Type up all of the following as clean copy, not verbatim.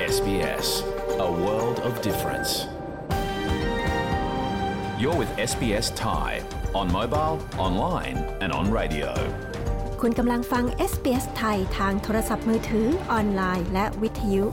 SBS, a world of difference. You're with SBS Thai on mobile, online and on radio. คุณกำลังฟัง SBS ไทยทางโทรศัพท์มือถือออนไลน์และวิทยุ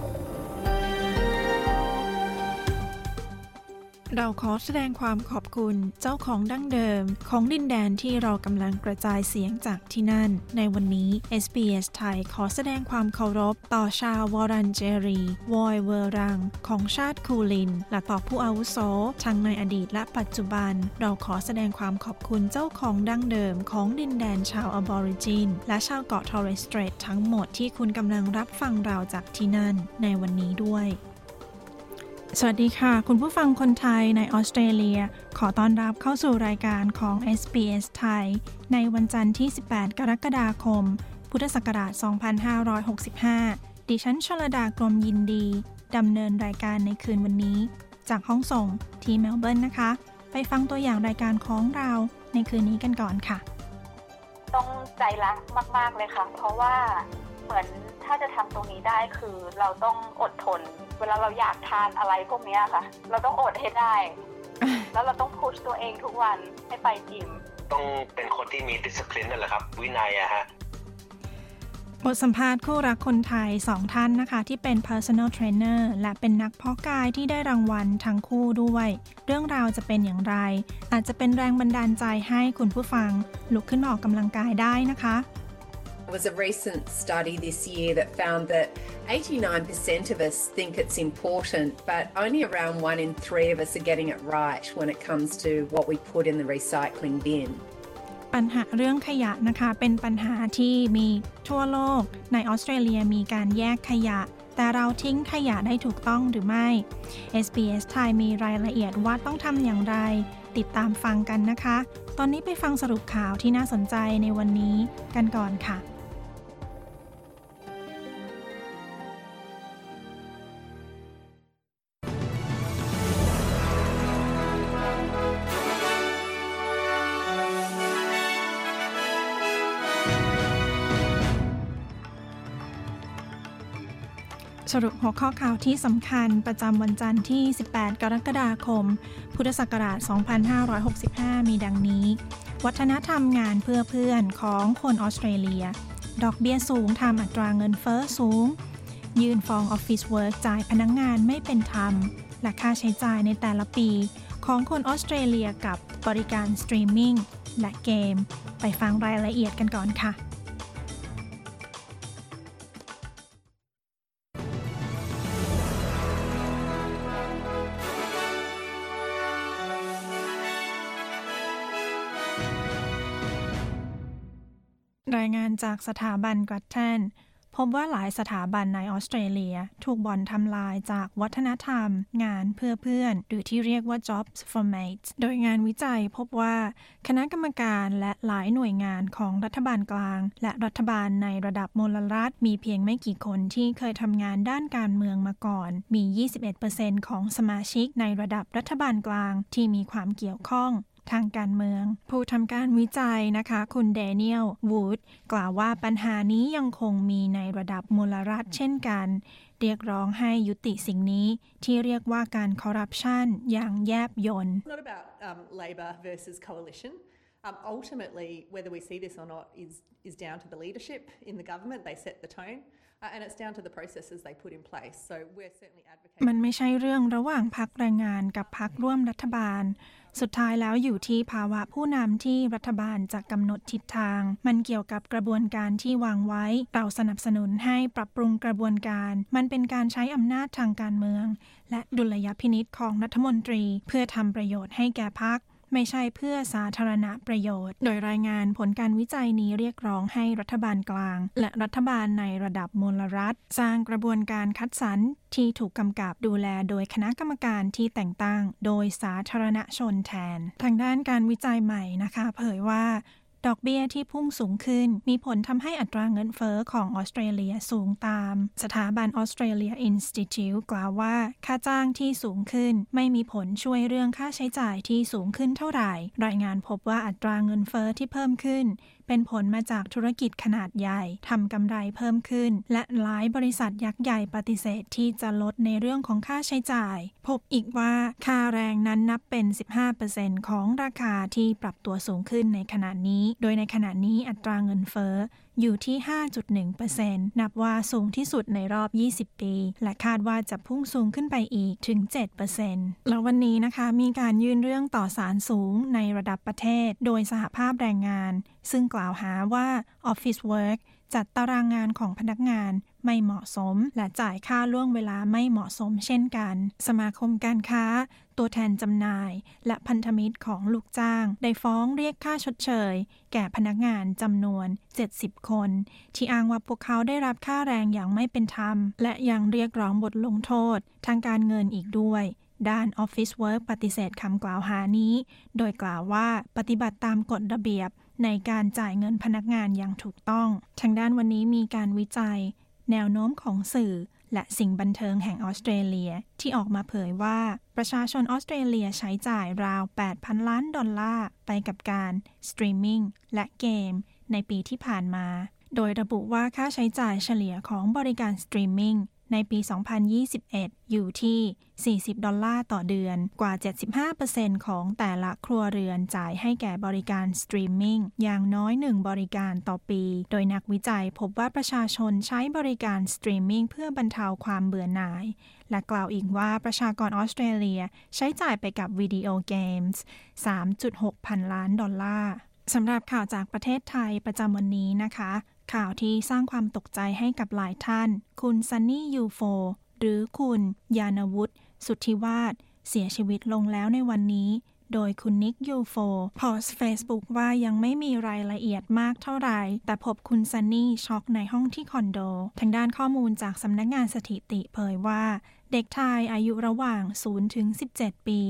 เราขอแสดงความขอบคุณเจ้าของดั้งเดิมของดินแดนที่เรากำลังกระจายเสียงจากที่นั่นในวันนี้ SBS ไทยขอแสดงความเคารพต่อชาววอรันเจรีวอยเวอรังของชาติคูลินและต่อผู้อาวุโสทั้งในอดีตและปัจจุบันเราขอแสดงความขอบคุณเจ้าของดั้งเดิมของดินแดนชาวอบอริจินและชาวเกาะทอร์เรสสเตรททั้งหมดที่คุณกำลังรับฟังเราจากที่นั่นในวันนี้ด้วยสวัสดีค่ะคุณผู้ฟังคนไทยในออสเตรเลียขอต้อนรับเข้าสู่รายการของ SBS ไทยในวันจันทร์ที่18กรกฎาคมพุทธศักราช2565ดิฉันชลดากรมยินดีดำเนินรายการในคืนวันนี้จากห้องส่งที่เมลเบิร์นนะคะไปฟังตัวอย่างรายการของเราในคืนนี้กันก่อนค่ะต้องใจรักมากๆเลยค่ะเพราะว่าเหมือนถ้าจะทำตรงนี้ได้คือเราต้องอดทนเวลาเราอยากทานอะไรพวกนี้ค่ะเราต้องอดให้ได้ แล้วเราต้องพุชตัวเองทุกวันให้ไปจิมต้องเป็นคนที่มี discipline นั่นแหละครับวินัยอะฮะบทสัมภาษณ์คู่รักคนไทย2ท่านนะคะที่เป็น personal trainer และเป็นนักเพาะกายที่ได้รางวัลทั้งคู่ด้วยเรื่องราวจะเป็นอย่างไรอาจจะเป็นแรงบันดาลใจให้คุณผู้ฟังลุกขึ้นมาออกกำลังกายได้นะคะ There was a recent study this year that found that 89% of us think it's important, but only around 1 in 3 of us are getting it right when it comes to what we put in the recycling bin. ปัญหาเรื่องขยะนะคะเป็นปัญหาที่มีทั่วโลกในออสเตรเลียมีการแยกขยะแต่เราทิ้งขยะได้ถูกต้องหรือไม่ SBS ไทยมีรายละเอียดว่าต้องทำอย่างไรติดตามฟังกันนะคะตอนนี้ไปฟังสรุปข่าวที่น่าสนใจในวันนี้กันก่อนค่ะสรุปหัวข้อข่าวที่สำคัญประจำวันจันทร์ที่18กรกฎาคมพุทธศักราช2565มีดังนี้วัฒนธรรมงานเพื่อเพื่อนของคนออสเตรเลียดอกเบี้ยสูงทำอัตราเงินเฟ้อสูงยื่นฟ้องออฟฟิศเวิร์กจ่ายพนักงานไม่เป็นธรรมและค่าใช้จ่ายในแต่ละปีของคนออสเตรเลียกับบริการสตรีมมิ่งและเกมไปฟังรายละเอียดกันก่อนค่ะรายงานจากสถาบันกรัตแทนพบว่าหลายสถาบันในออสเตรเลียถูกบ่อนทำลายจากวัฒนธรรมงานเพื่อเพื่อนหรือที่เรียกว่า Jobs for Mates โดยงานวิจัยพบว่าคณะกรรมการและหลายหน่วยงานของรัฐบาลกลางและรัฐบาลในระดับมลรัฐมีเพียงไม่กี่คนที่เคยทำงานด้านการเมืองมาก่อนมี 21% ของสมาชิกในระดับรัฐบาลกลางที่มีความเกี่ยวข้องทางการเมืองผู้ทำการวิจัยนะคะคุณแดเนียลวูดกล่าวว่าปัญหานี้ยังคงมีในระดับมลรัฐเช่นกันเรียกร้องให้ยุติสิ่งนี้ที่เรียกว่าการคอร์รัปชันอย่างแยบยล It's not about Labor versus coalition. Ultimately, whether we see this or not is down to the leadership in the government. They set the tone.And it's down to the processes they put in place. So we're certainly advocating. มันไม่ใช่เรื่องระหว่างพรรคแรงงานกับพรรคร่วมรัฐบาลสุดท้ายแล้วอยู่ที่ภาวะผู้นำที่รัฐบาลจะกำหนดทิศทางมันเกี่ยวกับกระบวนการที่วางไว้เราสนับสนุนให้ปรับปรุงกระบวนการมันเป็นการใช้อำนาจทางการเมืองและดุลยพินิจของรัฐมนตรีเพื่อทำประโยชน์ให้แก่พรรคไม่ใช่เพื่อสาธารณประโยชน์โดยรายงานผลการวิจัยนี้เรียกร้องให้รัฐบาลกลางและรัฐบาลในระดับมลรัฐสร้างกระบวนการคัดสรรที่ถูกกำกับดูแลโดยคณะกรรมการที่แต่งตั้งโดยสาธารณชนแทนทางด้านการวิจัยใหม่นะคะเผยว่าดอกเบี้ยที่พุ่งสูงขึ้นมีผลทำให้อัตราเงินเฟ้อของออสเตรเลียสูงตามสถาบัน Australia Institute กล่าวว่าค่าจ้างที่สูงขึ้นไม่มีผลช่วยเรื่องค่าใช้จ่ายที่สูงขึ้นเท่าไหร่รายงานพบว่าอัตราเงินเฟ้อที่เพิ่มขึ้นเป็นผลมาจากธุรกิจขนาดใหญ่ทำกำไรเพิ่มขึ้นและหลายบริษัทยักษ์ใหญ่ปฏิเสธที่จะลดในเรื่องของค่าใช้จ่ายพบอีกว่าค่าแรงนั้นนับเป็น 15% ของราคาที่ปรับตัวสูงขึ้นในขณะนี้โดยในขณะนี้อัตราเงินเฟ้ออยู่ที่ 5.1% นับว่าสูงที่สุดในรอบ20ปีและคาดว่าจะพุ่งสูงขึ้นไปอีกถึง 7% แล้ววันนี้นะคะมีการยื่นเรื่องต่อศาลสูงในระดับประเทศโดยสหภาพแรงงานซึ่งกล่าวหาว่า Office Work จัดตารางงานของพนักงานไม่เหมาะสมและจ่ายค่าล่วงเวลาไม่เหมาะสมเช่นกันสมาคมการค้าตัวแทนจำหน่ายและพันธมิตรของลูกจ้างได้ฟ้องเรียกค่าชดเชยแก่พนักงานจำนวน70คนที่อ้างว่าพวกเขาได้รับค่าแรงอย่างไม่เป็นธรรมและยังเรียกร้องบทลงโทษทางการเงินอีกด้วยด้าน Office Work ปฏิเสธคำกล่าวหานี้โดยกล่าวว่าปฏิบัติตามกฎระเบียบในการจ่ายเงินพนักงานอย่างถูกต้องทางด้านวันนี้มีการวิจัยแนวโน้มของสื่อและสิ่งบันเทิงแห่งออสเตรเลียที่ออกมาเผยว่าประชาชนออสเตรเลียใช้จ่ายราว 8,000 ล้านดอลลาร์ไปกับการสตรีมมิ่งและเกมในปีที่ผ่านมาโดยระบุว่าค่าใช้จ่ายเฉลี่ยของบริการสตรีมมิ่งในปี 2021 อยู่ที่$40ต่อเดือนกว่า 75% ของแต่ละครัวเรือนจ่ายให้แก่บริการสตรีมมิ่งอย่างน้อย1บริการต่อปีโดยนักวิจัยพบว่าประชาชนใช้บริการสตรีมมิ่งเพื่อบรรเทาความเบื่อหน่ายและกล่าวอีกว่าประชากรออสเตรเลียใช้จ่ายไปกับวิดีโอเกมส์ 3.6 พันล้านดอลลาร์สำหรับข่าวจากประเทศไทยประจำวันนี้นะคะข่าวที่สร้างความตกใจให้กับหลายท่านคุณซันนี่ยูโฟหรือคุณยานวุฒิสุทธิวาฒเสียชีวิตลงแล้วในวันนี้โดยคุณนิกยูโฟโพสต์ Facebook ว่ายังไม่มีรายละเอียดมากเท่าไหร่แต่พบคุณซันนี่ช็อกในห้องที่คอนโดทางด้านข้อมูลจากสำนักงานสถิติเผยว่าเด็กชายอายุระหว่าง 0-17 ปี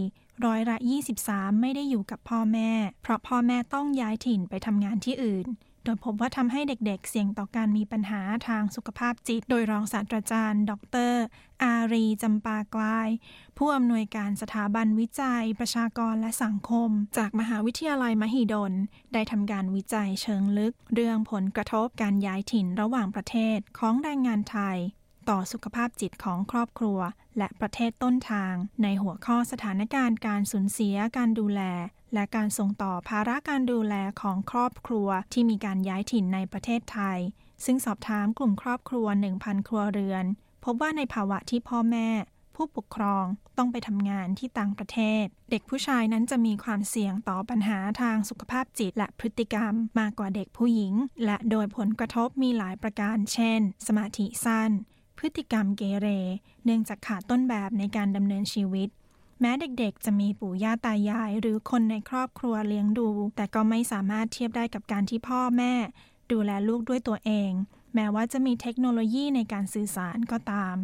23%ไม่ได้อยู่กับพ่อแม่เพราะพ่อแม่ต้องย้ายถิ่นไปทำงานที่อื่นโดยพบว่าทำให้เด็กๆเสี่ยงต่อการมีปัญหาทางสุขภาพจิตโดยรองศาสตราจารย์ดร.อารีจำปากลายผู้อำนวยการสถาบันวิจัยประชากรและสังคมจากมหาวิทยาลัยมหิดลได้ทำการวิจัยเชิงลึกเรื่องผลกระทบการย้ายถิ่นระหว่างประเทศของแรงงานไทยต่อสุขภาพจิตของครอบครัวและประเทศต้นทางในหัวข้อสถานการณ์การสูญเสียการดูแลและการส่งต่อภาระการดูแลของครอบครัวที่มีการย้ายถิ่นในประเทศไทยซึ่งสอบถามกลุ่มครอบครัว 1,000 ครัวเรือนพบว่าในภาวะที่พ่อแม่ผู้ปกครองต้องไปทำงานที่ต่างประเทศเด็กผู้ชายนั้นจะมีความเสี่ยงต่อปัญหาทางสุขภาพจิตและพฤติกรรมมากกว่าเด็กผู้หญิงและโดยผลกระทบมีหลายประการเช่นสมาธิสั้นพฤติกรรมเกเรเนื่องจากขาดต้นแบบในการดำเนินชีวิตแม้เด็กๆจะมีปู่ย่าตายายหรือคนในครอบครัวเลี้ยงดูแต่ก็ไม่สามารถเทียบได้กับการที่พ่อแม่ดูแลลูกด้วยตัวเองแม้ว่าจะมีเทคโนโลยีในการสื่อสารก็ตาม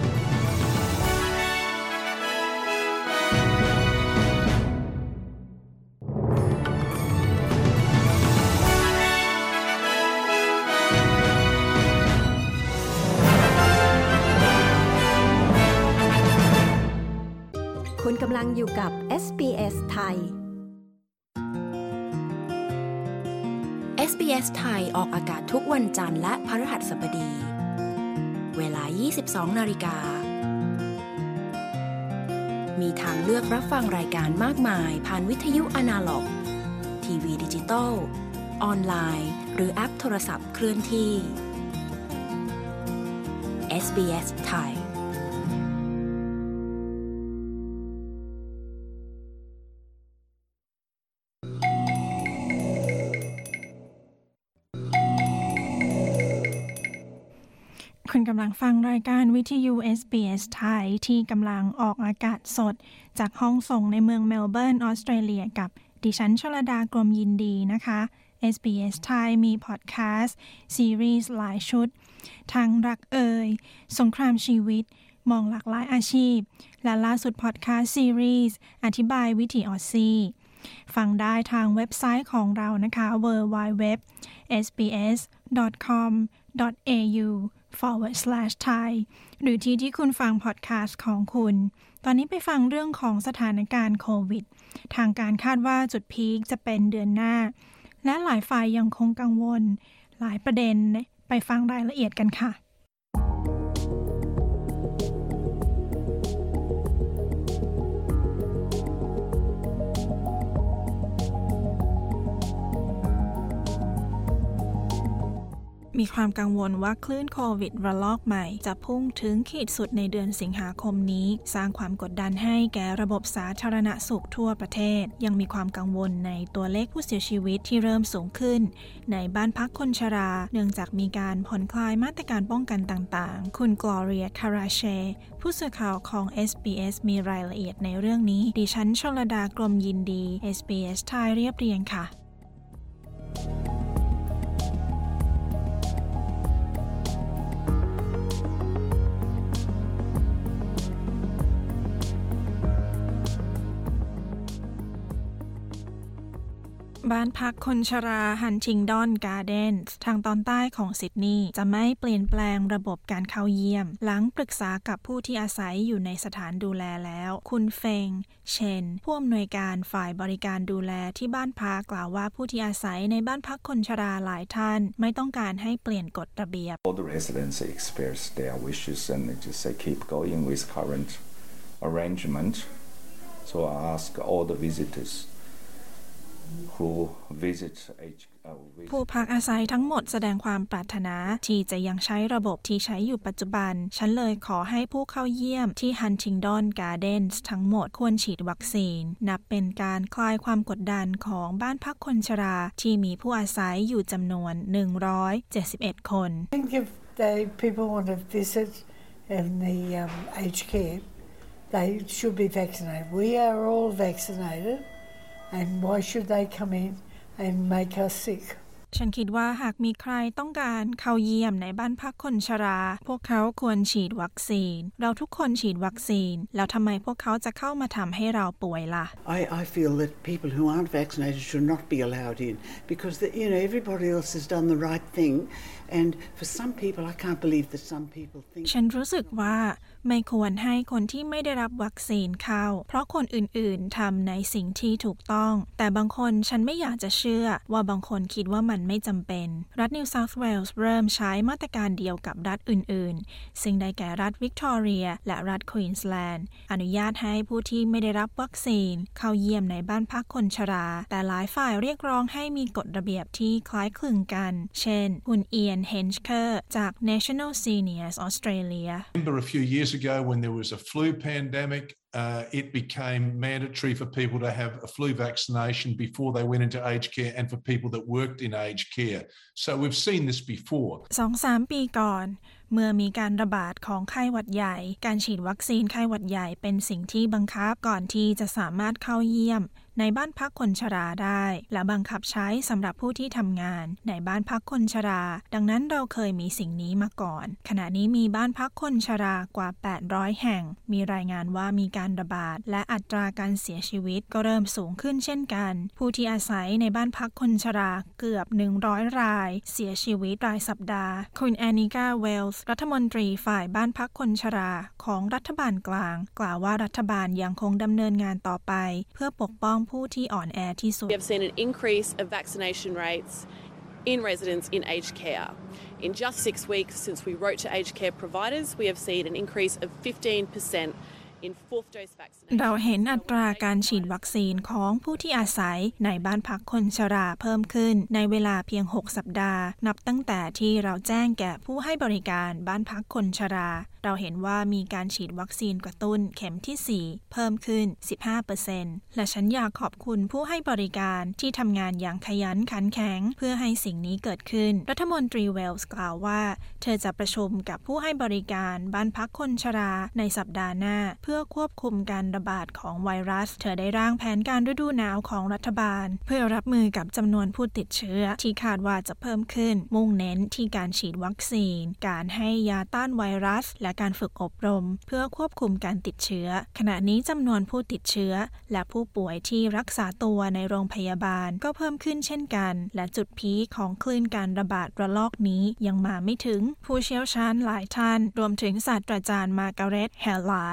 คุณกำลังอยู่กับ SBS ไทย SBS ไทยออกอากาศทุกวันจันทร์และพฤหัสบดีเวลา 22:00 น.มีทางเลือกรับฟังรายการมากมายผ่านวิทยุอนาล็อกทีวีดิจิตอลออนไลน์หรือแอปโทรศัพท์เคลื่อนที่ SBS ไทยคุณกำลังฟังรายการวิทยุ SBS ไทยที่กำลังออกอากาศสดจากห้องส่งในเมืองเมลเบิร์นออสเตรเลียกับดิฉันชลดากรมยินดีนะคะ SBS ไทยมีพอดแคสต์ซีรีส์หลายชุดทั้งรักสงครามชีวิตมองหลากหลายอาชีพและล่าสุดพอดแคสต์ซีรีส์อธิบายวิถีออสซี่ฟังได้ทางเว็บไซต์ของเรานะคะ www.sbs.com.au/thai หรือที่คุณฟังพอดแคสต์ของคุณตอนนี้ไปฟังเรื่องของสถานการณ์โควิดทางการคาดว่าจุดพีคจะเป็นเดือนหน้าและหลายฝ่ายยังคงกังวลหลายประเด็นไปฟังรายละเอียดกันค่ะมีความกังวลว่าคลื่นโควิดระลอกใหม่จะพุ่งถึงขีดสุดในเดือนสิงหาคมนี้สร้างความกดดันให้แก่ระบบสาธารณสุขทั่วประเทศยังมีความกังวลในตัวเลขผู้เสียชีวิตที่เริ่มสูงขึ้นในบ้านพักคนชราเนื่องจากมีการผ่อนคลายมาตรการป้องกันต่างๆคุณกลอเรียคาราเชผู้สื่อข่าวของ SBS มีรายละเอียดในเรื่องนี้ดิฉันชลดากรมยินดี SBS ไทยเรียบเรียงค่ะบ้านพักคนชราฮันทิงดอนการ์เดนส์ทางตอนใต้ของซิดนีย์จะไม่เปลี่ยนแปลงระบบการเข้าเยี่ยมหลังปรึกษากับผู้ที่อาศัยอยู่ในสถานดูแลแล้วคุณเฟงเชนผู้อำนวยการฝ่ายบริการดูแลที่บ้านพักกล่าวว่าผู้ที่อาศัยในบ้านพักคนชราหลายท่านไม่ต้องการให้ปลี่ยนกฎระเบียบ All the residents express their wishes and they just say keep going with current arrangement. So I ask all the visitorsผู้พักอาศัยทั้งหมดแสดงความปรารถนาที่จะยังใช้ระบบที่ใช้อยู่ปัจจุบันฉันเลยขอให้ผู้เข้าเยี่ยมที่ Huntingdon Gardens ทั้งหมดควรฉีดวัคซีนนับเป็นการคลายความกดดันของบ้านพักคนชราที่มีผู้อาศัยอยู่จำนวน171คน I think if people want to visit in the aged care they should be vaccinated. We are all vaccinated.And why should they come in and make us sick? ฉันคิดว่าหากมีใครต้องการเข้าเยี่ยมในบ้านพักคนชราพวกเขาควรฉีดวัคซีนเราทุกคนฉีดวัคซีนแล้วทำไมพวกเขาจะเข้ามาทำให้เราป่วยล่ะ I feel that people who aren't vaccinated should not be allowed in because everybody else has done the right thing and for some people I can't believe that some people think ฉันรู้สึกว่าไม่ควรให้คนที่ไม่ได้รับวัคซีนเข้าเพราะคนอื่นๆทำในสิ่งที่ถูกต้องแต่บางคนฉันไม่อยากจะเชื่อว่าบางคนคิดว่ามันไม่จำเป็นรัฐนิวเซาท์เวลส์เริ่มใช้มาตรการเดียวกับรัฐอื่นๆซึ่งได้แก่รัฐวิกตอเรียและรัฐควีนส์แลนด์อนุญาตให้ผู้ที่ไม่ได้รับวัคซีนเข้าเยี่ยมในบ้านพักคนชราแต่หลายฝ่ายเรียกร้องให้มีกฎระเบียบที่คล้ายคลึงกันเช่นคุณเอียนเฮนช์เคอร์จาก National Seniors Australia Remember a few years ago when there was a flu pandemic it became mandatory for people to have a flu vaccination before they went into aged care and for people that worked in aged care. So we've seen this before. 2-3 ปีก่อนเมื่อมีการระบาดของไข้หวัดใหญ่การฉีดวัคซีนไข้หวัดใหญ่เป็นสิ่งที่บังคับก่อนที่จะสามารถเข้าเยี่ยมในบ้านพักคนชราได้และบังคับใช้สำหรับผู้ที่ทำงานในบ้านพักคนชราดังนั้นเราเคยมีสิ่งนี้มาก่อนขณะนี้มีบ้านพักคนชรากว่า800แห่งมีรายงานว่ามีการระบาดและอัตราการเสียชีวิตก็เริ่มสูงขึ้นเช่นกันผู้ที่อาศัยในบ้านพักคนชราเกือบ100รายเสียชีวิตรายสัปดาห์คุณแอนิกาเวลส์รัฐมนตรีฝ่ายบ้านพักคนชราของรัฐบาลกลางกล่าวว่ารัฐบาลยังคงดำเนินงานต่อไปเพื่อปกป้องผู้ที่อ่อนแอที่สุด We have seen an increase of vaccination rates in residents in aged care. In just 6 weeks since we wrote to aged care providers, we have seen an increase of 15%. เราเห็นอัตราการฉีดวัคซีนของผู้ที่อาศัยในบ้านพักคนชราเพิ่มขึ้นในเวลาเพียง6สัปดาห์นับตั้งแต่ที่เราแจ้งแก่ผู้ให้บริการบ้านพักคนชราเราเห็นว่ามีการฉีดวัคซีนกระตุ้นเข็มที่4เพิ่มขึ้น 15% และฉันอยากขอบคุณผู้ให้บริการที่ทำงานอย่างขยันขันแข็งเพื่อให้สิ่งนี้เกิดขึ้นรัฐมนตรีเวลส์กล่าวว่าเธอจะประชุมกับผู้ให้บริการบ้านพักคนชราในสัปดาห์หน้าเพื่อควบคุมการระบาดของไวรัสเธอได้ร่างแผนการฤดูหนาวของรัฐบาลเพื่อรับมือกับจำนวนผู้ติดเชื้อที่คาดว่าจะเพิ่มขึ้นมุ่งเน้นที่การฉีดวัคซีนการให้ยาต้านไวรัสและการฝึกอบรมเพื่อควบคุมการติดเชื้อขณะนี้จำนวนผู้ติดเชื้อและผู้ป่วยที่รักษาตัวในโรงพยาบาลก็เพิ่มขึ้นเช่นกันและจุดพีคของคลื่นการระบาดระลอกนี้ยังมาไม่ถึงผู้เชี่ยวชาญหลายท่านรวมถึงศาสตราจารย์มาร์กาเร็ต เฮลลาร์ดจากส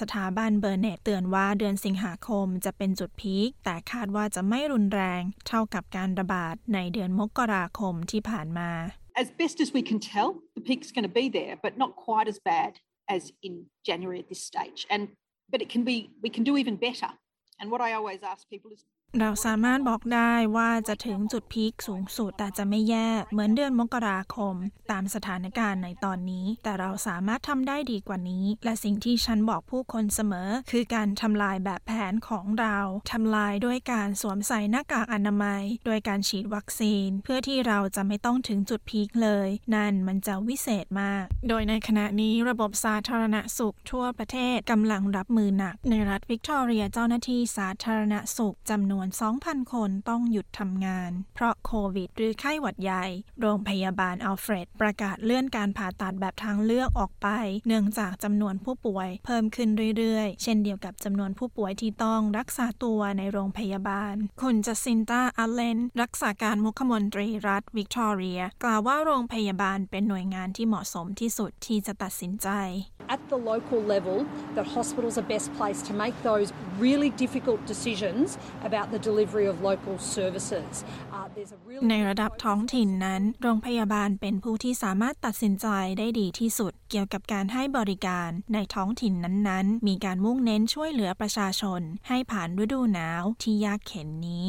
สถาบันเบอร์เน็ตเตือนว่าเดือนสิงหาคมจะเป็นจุดพีคแต่คาดว่าจะไม่รุนแรงเท่ากับการระบาดในเดือนมกราคมที่ผ่านมา As best as we can tell, the peak's going to be there, but not quite as bad as in January at this stage. But we can do even better. And what I always ask people is เราสามารถบอกได้ว่าจะถึงจุดพีคสูงสุดแต่จะไม่แย่เหมือนเดือนมกราคมตามสถานการณ์ในตอนนี้แต่เราสามารถทำได้ดีกว่านี้และสิ่งที่ฉันบอกผู้คนเสมอคือการทำลายแบบแผนของเราทำลายด้วยการสวมใส่หน้ากากอนามัยโดยการฉีดวัคซีนเพื่อที่เราจะไม่ต้องถึงจุดพีคเลยนั่นมันจะวิเศษมากโดยในขณะนี้ระบบสาธารณสุขทั่วประเทศกำลังรับมือหนักในรัฐวิกตอเรียเจ้าหน้าที่สาธารณสุขจำนวน2,000 คนต้องหยุดทำงานเพราะโควิดหรือไข้หวัดใหญ่โรงพยาบาลอัลเฟรดประกาศเลื่อนการผ่าตัดแบบทางเลือกออกไปเนื่องจากจำนวนผู้ป่วยเพิ่มขึ้นเรื่อยๆเช่นเดียวกับจำนวนผู้ป่วยที่ต้องรักษาตัวในโรงพยาบาลคุณจัสซินตาอัลเลนรักษาการมุขมนตรีรัฐวิกตอเรียกล่าวว่าโรงพยาบาลเป็นหน่วยงานที่เหมาะสมที่สุดที่จะตัดสินใจ At the local level, that hospitals are best placed to make those really difficult decisions about the delivery of local services. ในระดับท้องถิ่นนั้นโรงพยาบาลเป็นผู้ที่สามารถตัดสินใจได้ดีที่สุดเกี่ยวกับการให้บริการในท้องถิ่นนั้นๆมีการมุ่งเน้นช่วยเหลือประชาชนให้ผ่านฤดูหนาวที่ยากเข็ญนี้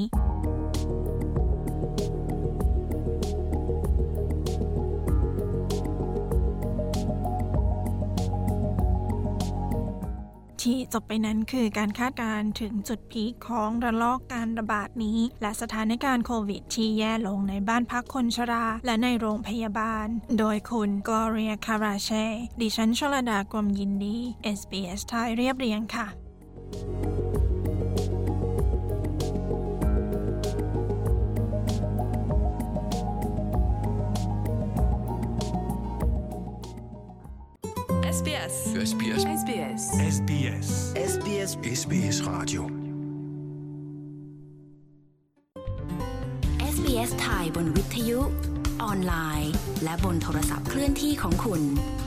ที่จบไปนั้นคือการคาดการณ์ถึงจุดพีคของระลอกการระบาดนี้และสถานการณ์โควิดที่แย่ลงในบ้านพักคนชราและในโรงพยาบาลโดยคุณกลอเรียคาราเช่ดิฉันชลดากรมยินดี SBS ไทยเรียบเรียงค่ะ SBS SBS SBS SBS SBS SBS Radio SBS ไทยบนวิทยุออนไลน์และบนโทรศัพท์เคลื่อนที่ของคุณ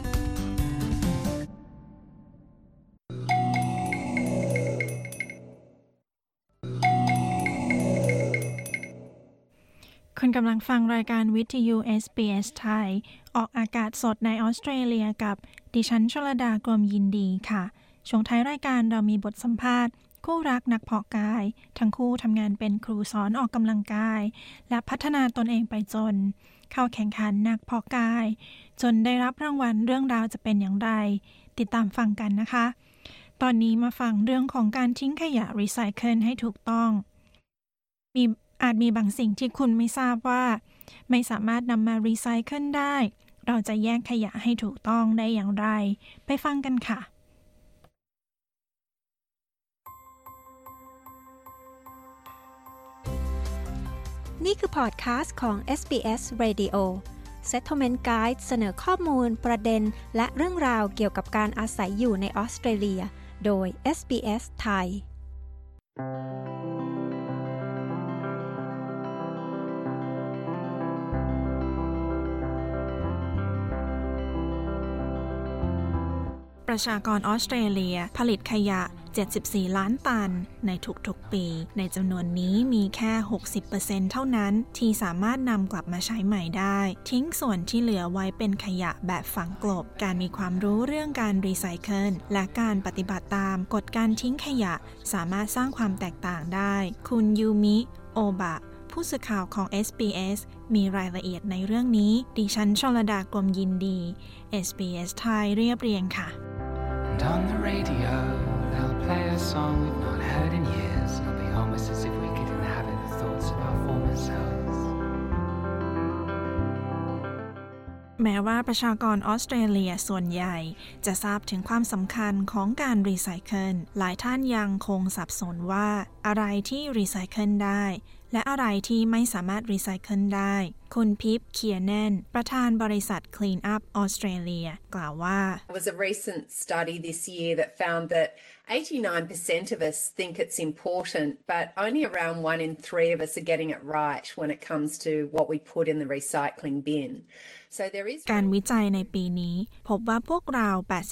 คุณกำลังฟังรายการวิทยุ SBS ไทยออกอากาศสดในออสเตรเลียกับดิฉันชลดากรมยินดีค่ะช่วงท้ายรายการเรามีบทสัมภาษณ์คู่รักนักเพาะกายทั้งคู่ทำงานเป็นครูสอนออกกำลังกายและพัฒนาตนเองไปจนเข้าแข่งขันนักเพาะกายจนได้รับรางวัลเรื่องราวจะเป็นอย่างไรติดตามฟังกันนะคะตอนนี้มาฟังเรื่องของการทิ้งขยะรีไซเคิลให้ถูกต้องอาจมีบางสิ่งที่คุณไม่ทราบว่าไม่สามารถนำมารีไซเคิลได้เราจะแยกขยะให้ถูกต้องได้อย่างไรไปฟังกันค่ะนี่คือพอดคาสต์ของ SBS Radio Settlement Guide เสนอข้อมูลประเด็นและเรื่องราวเกี่ยวกับการอาศัยอยู่ในออสเตรเลียโดย SBS ไทยประชากรออสเตรเลียผลิตขยะ74ล้านตันในทุกๆปีในจำนวนนี้มีแค่ 60% เท่านั้นที่สามารถนำกลับมาใช้ใหม่ได้ทิ้งส่วนที่เหลือไว้เป็นขยะแบบฝังกลบการมีความรู้เรื่องการรีไซเคิลและการปฏิบัติตามกฎการทิ้งขยะสามารถสร้างความแตกต่างได้คุณยูมิโอบะผู้สื่อข่าวของ SBS มีรายละเอียดในเรื่องนี้ดิฉันชลดากรมยินดี SBS ไทยเรียบเรียงค่ะ And on the radio, they'll play a song we've not heard in years. It'll be almost as if we could inhabit the thoughts of our former selves. แม้ว่าประชากรออสเตรเลียส่วนใหญ่จะทราบถึงความสำคัญของการรีไซเคิลหลายท่านยังคงสับสนว่าอะไรที่รีไซเคิลได้และอะไรที่ไม่สามารถรีไซเคิลได้คุณพิปเคียร์แนนประธานบริษัท Clean Up Australia กล่าวว่า There was a recent study this year that found that 89% of us think it's important, but only around 1 in 3 of us are getting it right when it comes to what we put in the recycling bin. So there is การวิจัยในปีนี้พบว่าพวกเรา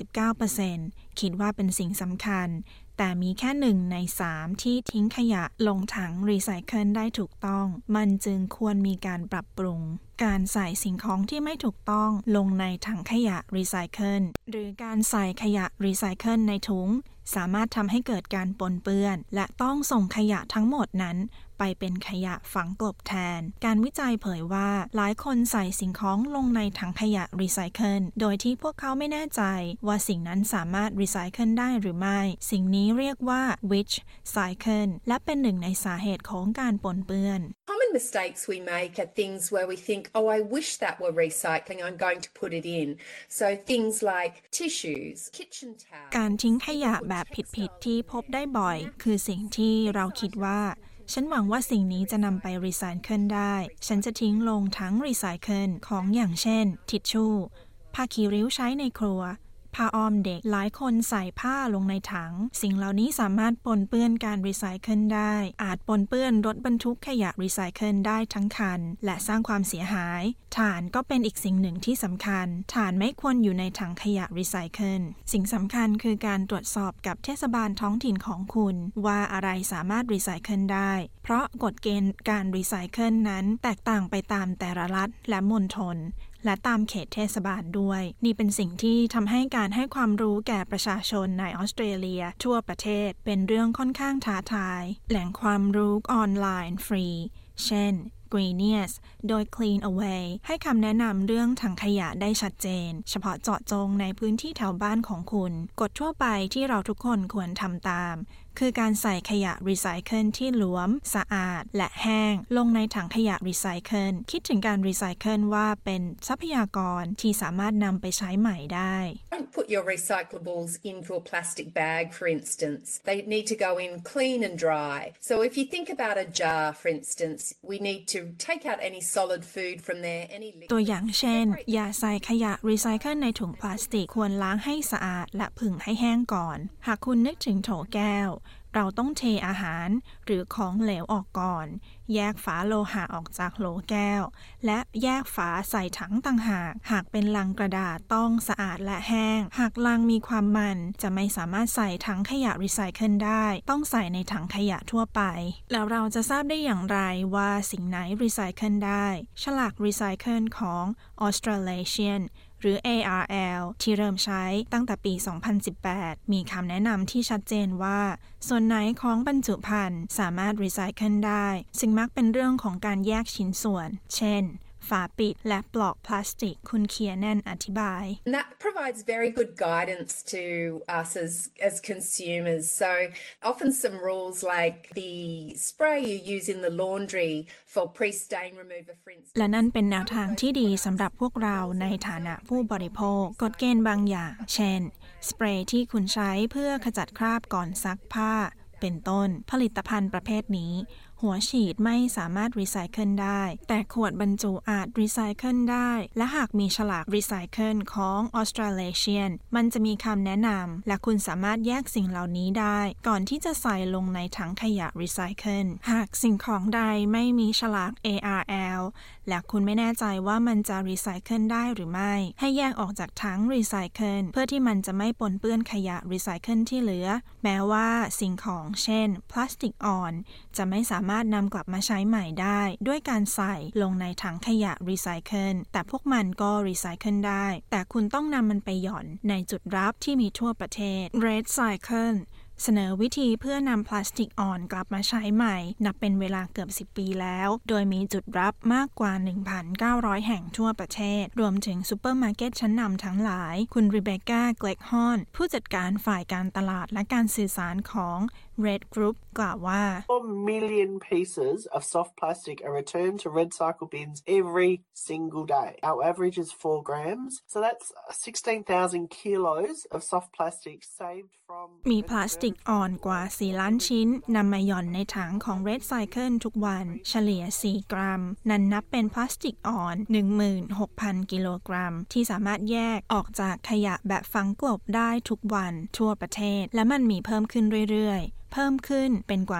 89% คิดว่าเป็นสิ่งสำคัญแต่มีแค่1 ใน 3ที่ทิ้งขยะลงถังรีไซเคิลได้ถูกต้องมันจึงควรมีการปรับปรุงการใส่สิ่งของที่ไม่ถูกต้องลงในถังขยะรีไซเคิลหรือการใส่ขยะรีไซเคิลในถุงสามารถทำให้เกิดการปนเปื้อนและต้องส่งขยะทั้งหมดนั้นไปเป็นขยะฝังกลบแทนการวิจัยเผยว่าหลายคนใส่สิ่งของลงในถังขยะรีไซเคิลโดยที่พวกเขาไม่แน่ใจว่าสิ่งนั้นสามารถรีไซเคิลได้หรือไม่สิ่งนี้เรียกว่า witch cycle และเป็นหนึ่งในสาเหตุของการปนเปื้อน Common mistakes we make are things where we think, oh, I wish that were recycling, I'm going to put it in. So things like tissues, kitchen towels. การทิ้งขยะแบบผิดๆที่พบได้บ่อยคือสิ่งที่เราคิดว่าฉันหวังว่าสิ่งนี้จะนำไปรีไซเคิลได้ฉันจะทิ้งลงถังรีไซเคิลของอย่างเช่นทิชชู่ผ้าคีริ้วใช้ในครัวผ้าอ้อมเด็กหลายคนใส่ผ้าลงในถังสิ่งเหล่านี้สามารถปนเปื้อนการรีไซเคิลได้อาจปนเปื้อนรถบรรทุกขยะรีไซเคิลได้ทั้งคันและสร้างความเสียหายถ่านก็เป็นอีกสิ่งหนึ่งที่สำคัญถ่านไม่ควรอยู่ในถังขยะรีไซเคิลสิ่งสำคัญคือการตรวจสอบกับเทศบาลท้องถิ่นของคุณว่าอะไรสามารถรีไซเคิลได้เพราะกฎเกณฑ์การรีไซเคิลนั้นแตกต่างไปตามแต่ละรัฐและมณฑลและตามเขตเทศบาลด้วยนี่เป็นสิ่งที่ทำให้การให้ความรู้แก่ประชาชนในออสเตรเลียทั่วประเทศเป็นเรื่องค่อนข้างท้าทายแหล่งความรู้ออนไลน์ฟรีเช่นGreenius โดย Clean Away ให้คำแนะนำเรื่องถังขยะได้ชัดเจนเฉพาะเจาะจงในพื้นที่แถวบ้านของคุณกฎทั่วไปที่เราทุกคนควรทำตามคือการใส่ขยะรีไซเคิลที่หลวมสะอาดและแห้งลงในถังขยะรีไซเคิลคิดถึงการรีไซเคิลว่าเป็นทรัพยากรที่สามารถนำไปใช้ใหม่ได้ Don't put your recyclables into a plastic bag, for instance. They need to go in clean and dry. So if you think about a jar, for instance, we need to take out any solid food from there, any liquid. ตัวอย่างเช่นอย่าใส่ขยะรีไซเคิลในถุงพลาสติกควรล้างให้สะอาดและผึ่งให้แห้งก่อนหากคุณนึกถึงโถแก้วเราต้องเทอาหารหรือของเหลวออกก่อนแยกฝาโลหะออกจากโหลแก้วและแยกฝาใส่ถังต่างหากหากเป็นลังกระดาษต้องสะอาดและแห้งหากลังมีความมันจะไม่สามารถใส่ถังขยะรีไซเคิลได้ต้องใส่ในถังขยะทั่วไปแล้วเราจะทราบได้อย่างไรว่าสิ่งไหนรีไซเคิลได้ฉลากรีไซเคิลของ Australasianหรือ ARL ที่เริ่มใช้ตั้งแต่ปี 2018 มีคำแนะนำที่ชัดเจนว่าส่วนไหนของบรรจุภัณฑ์สามารถรีไซเคิลได้ซึ่งมักเป็นเรื่องของการแยกชิ้นส่วนเช่นฝาปิดและปลอกพลาสติกคุณเคียร์แนนอธิบาย And that provides very good guidance to us as consumers. So often some rules like the spray you use in the laundry for pre-stain remover, for instance. และนั่นเป็นแนวทางที่ดีสำหรับพวกเราในฐานะผู้บริโภคกฎเกณฑ์บางอย่างเช่นสเปรย์ที่คุณใช้เพื่อขจัดคราบก่อนซักผ้าเป็นต้นผลิตภัณฑ์ประเภทนี้หัวฉีดไม่สามารถรีไซเคิลได้แต่ขวดบรรจุอาจรีไซเคิลได้และหากมีฉลากรีไซเคิลของ Australasian มันจะมีคำแนะนำและคุณสามารถแยกสิ่งเหล่านี้ได้ก่อนที่จะใส่ลงในถังขยะรีไซเคิลหากสิ่งของใดไม่มีฉลาก ARL และคุณไม่แน่ใจว่ามันจะรีไซเคิลได้หรือไม่ให้แยกออกจากถังรีไซเคิลเพื่อที่มันจะไม่ปนเปื้อนขยะรีไซเคิลที่เหลือแม้ว่าสิ่งของเช่นพลาสติกอ่อนจะไม่สามารถนำกลับมาใช้ใหม่ได้ด้วยการใส่ลงในถังขยะรีไซเคิลแต่พวกมันก็รีไซเคิลได้แต่คุณต้องนำมันไปหย่อนในจุดรับที่มีทั่วประเทศ Red Cycle เสนอวิธีเพื่อนำพลาสติกอ่อนกลับมาใช้ใหม่นับเป็นเวลาเกือบ10 ปีแล้วโดยมีจุดรับมากกว่า 1,900 แห่งทั่วประเทศรวมถึงซูเปอร์มาร์เก็ตชั้นนำทั้งหลายคุณรีเบคก้า เกล็กฮอนผู้จัดการฝ่ายการตลาดและการสื่อสารของ Red Group กล่าวว่า 4 million pieces of soft plastic are returned to recycle bins every single day. Our average is 4 grams, so that's 16,000 kilos of soft plastic saved from มีพลาสติกอ่อนกว่า4ล้านชิ้นนำมาหย่อนในถังของ Recycle ทุกวันเฉลี่ย4กรัมนั่นนับเป็นพลาสติกอ่อน 16,000 กิโลกรัมที่สามารถแยกออกจากขยะแบบฝังกลบได้ทุกวันทั่วประเทศและมันมีเพิ่มขึ้นเรื่อยๆเพิ่มขึ้นเป็นกว่า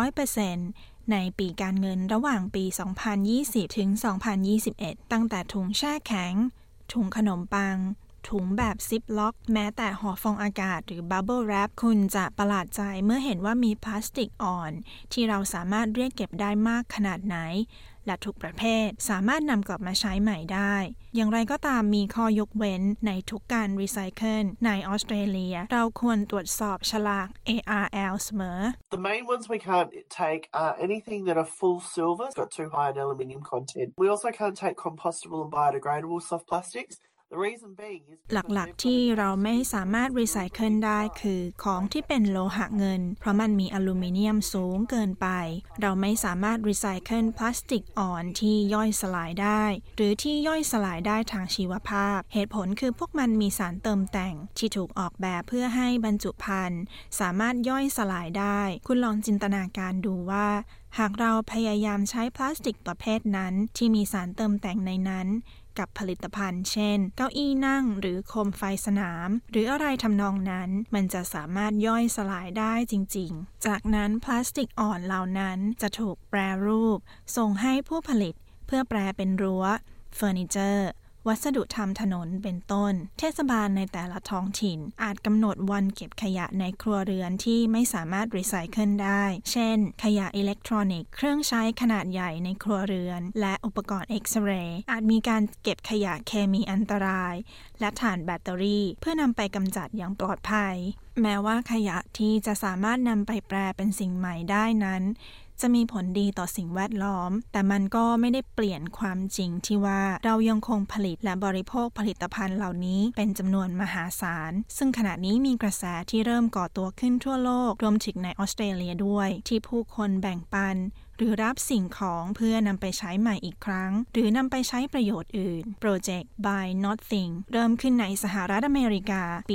200% ในปีการเงินระหว่างปี 2020 ถึง 2021 ตั้งแต่ถุงแช่แข็งถุงขนมปังถุงแบบซิปล็อกแม้แต่ห่อฟองอากาศหรือบับเบิลแรปคุณจะประหลาดใจเมื่อเห็นว่ามีพลาสติกอ่อนที่เราสามารถเรียกเก็บได้มากขนาดไหนและทุกประเภทสามารถนำกลับมาใช้ใหม่ได้อย่างไรก็ตามมีข้อยกเว้นในทุกการรีไซเคิลในออสเตรเลียเราควรตรวจสอบฉลาก ARL เสมอ The main ones we can't take are anything that are full silver, it's got too high an aluminium content. We also can't take compostable and biodegradable soft plastics. หลักๆที่เราไม่สามารถรีไซเคิลได้คือของที่เป็นโลหะเงินเพราะมันมีอลูมิเนียมสูงเกินไปเราไม่สามารถรีไซเคิลพลาสติกอ่อนที่ย่อยสลายได้หรือที่ย่อยสลายได้ทางชีวภาพเหตุผลคือพวกมันมีสารเติมแต่งที่ถูกออกแบบเพื่อให้บรรจุภัณฑ์สามารถย่อยสลายได้คุณลองจินตนาการดูว่าหากเราพยายามใช้พลาสติกประเภทนั้นที่มีสารเติมแต่งในนั้นกับผลิตภัณฑ์เช่นเก้าอี้นั่งหรือโคมไฟสนามหรืออะไรทำนองนั้นมันจะสามารถย่อยสลายได้จริงๆจากนั้นพลาสติกอ่อนเหล่านั้นจะถูกแปรรูปส่งให้ผู้ผลิตเพื่อแปรเป็นรั้วเฟอร์นิเจอร์วัสดุทำถนนเป็นต้นเทศบาลในแต่ละท้องถิ่นอาจกำหนดวันเก็บขยะในครัวเรือนที่ไม่สามารถรีไซเคิลได้เช่นขยะอิเล็กทรอนิกส์เครื่องใช้ขนาดใหญ่ในครัวเรือนและอุปกรณ์เอ็กซเรย์อาจมีการเก็บขยะเคมีอันตรายและถ่านแบตเตอรี่เพื่อนำไปกำจัดอย่างปลอดภัยแม้ว่าขยะที่จะสามารถนำไปแปลเป็นสิ่งใหม่ได้นั้นจะมีผลดีต่อสิ่งแวดล้อมแต่มันก็ไม่ได้เปลี่ยนความจริงที่ว่าเรายังคงผลิตและบริโภคผลิตภัณฑ์เหล่านี้เป็นจำนวนมหาศาลซึ่งขณะนี้มีกระแสที่เริ่มก่อตัวขึ้นทั่วโลกรวมถึงในออสเตรเลียด้วยที่ผู้คนแบ่งปันหรือรับสิ่งของเพื่อนำไปใช้ใหม่อีกครั้งหรือนำไปใช้ประโยชน์อื่นโปรเจกต์ Buy Nothing เริ่มขึ้นในสหรัฐอเมริกาปี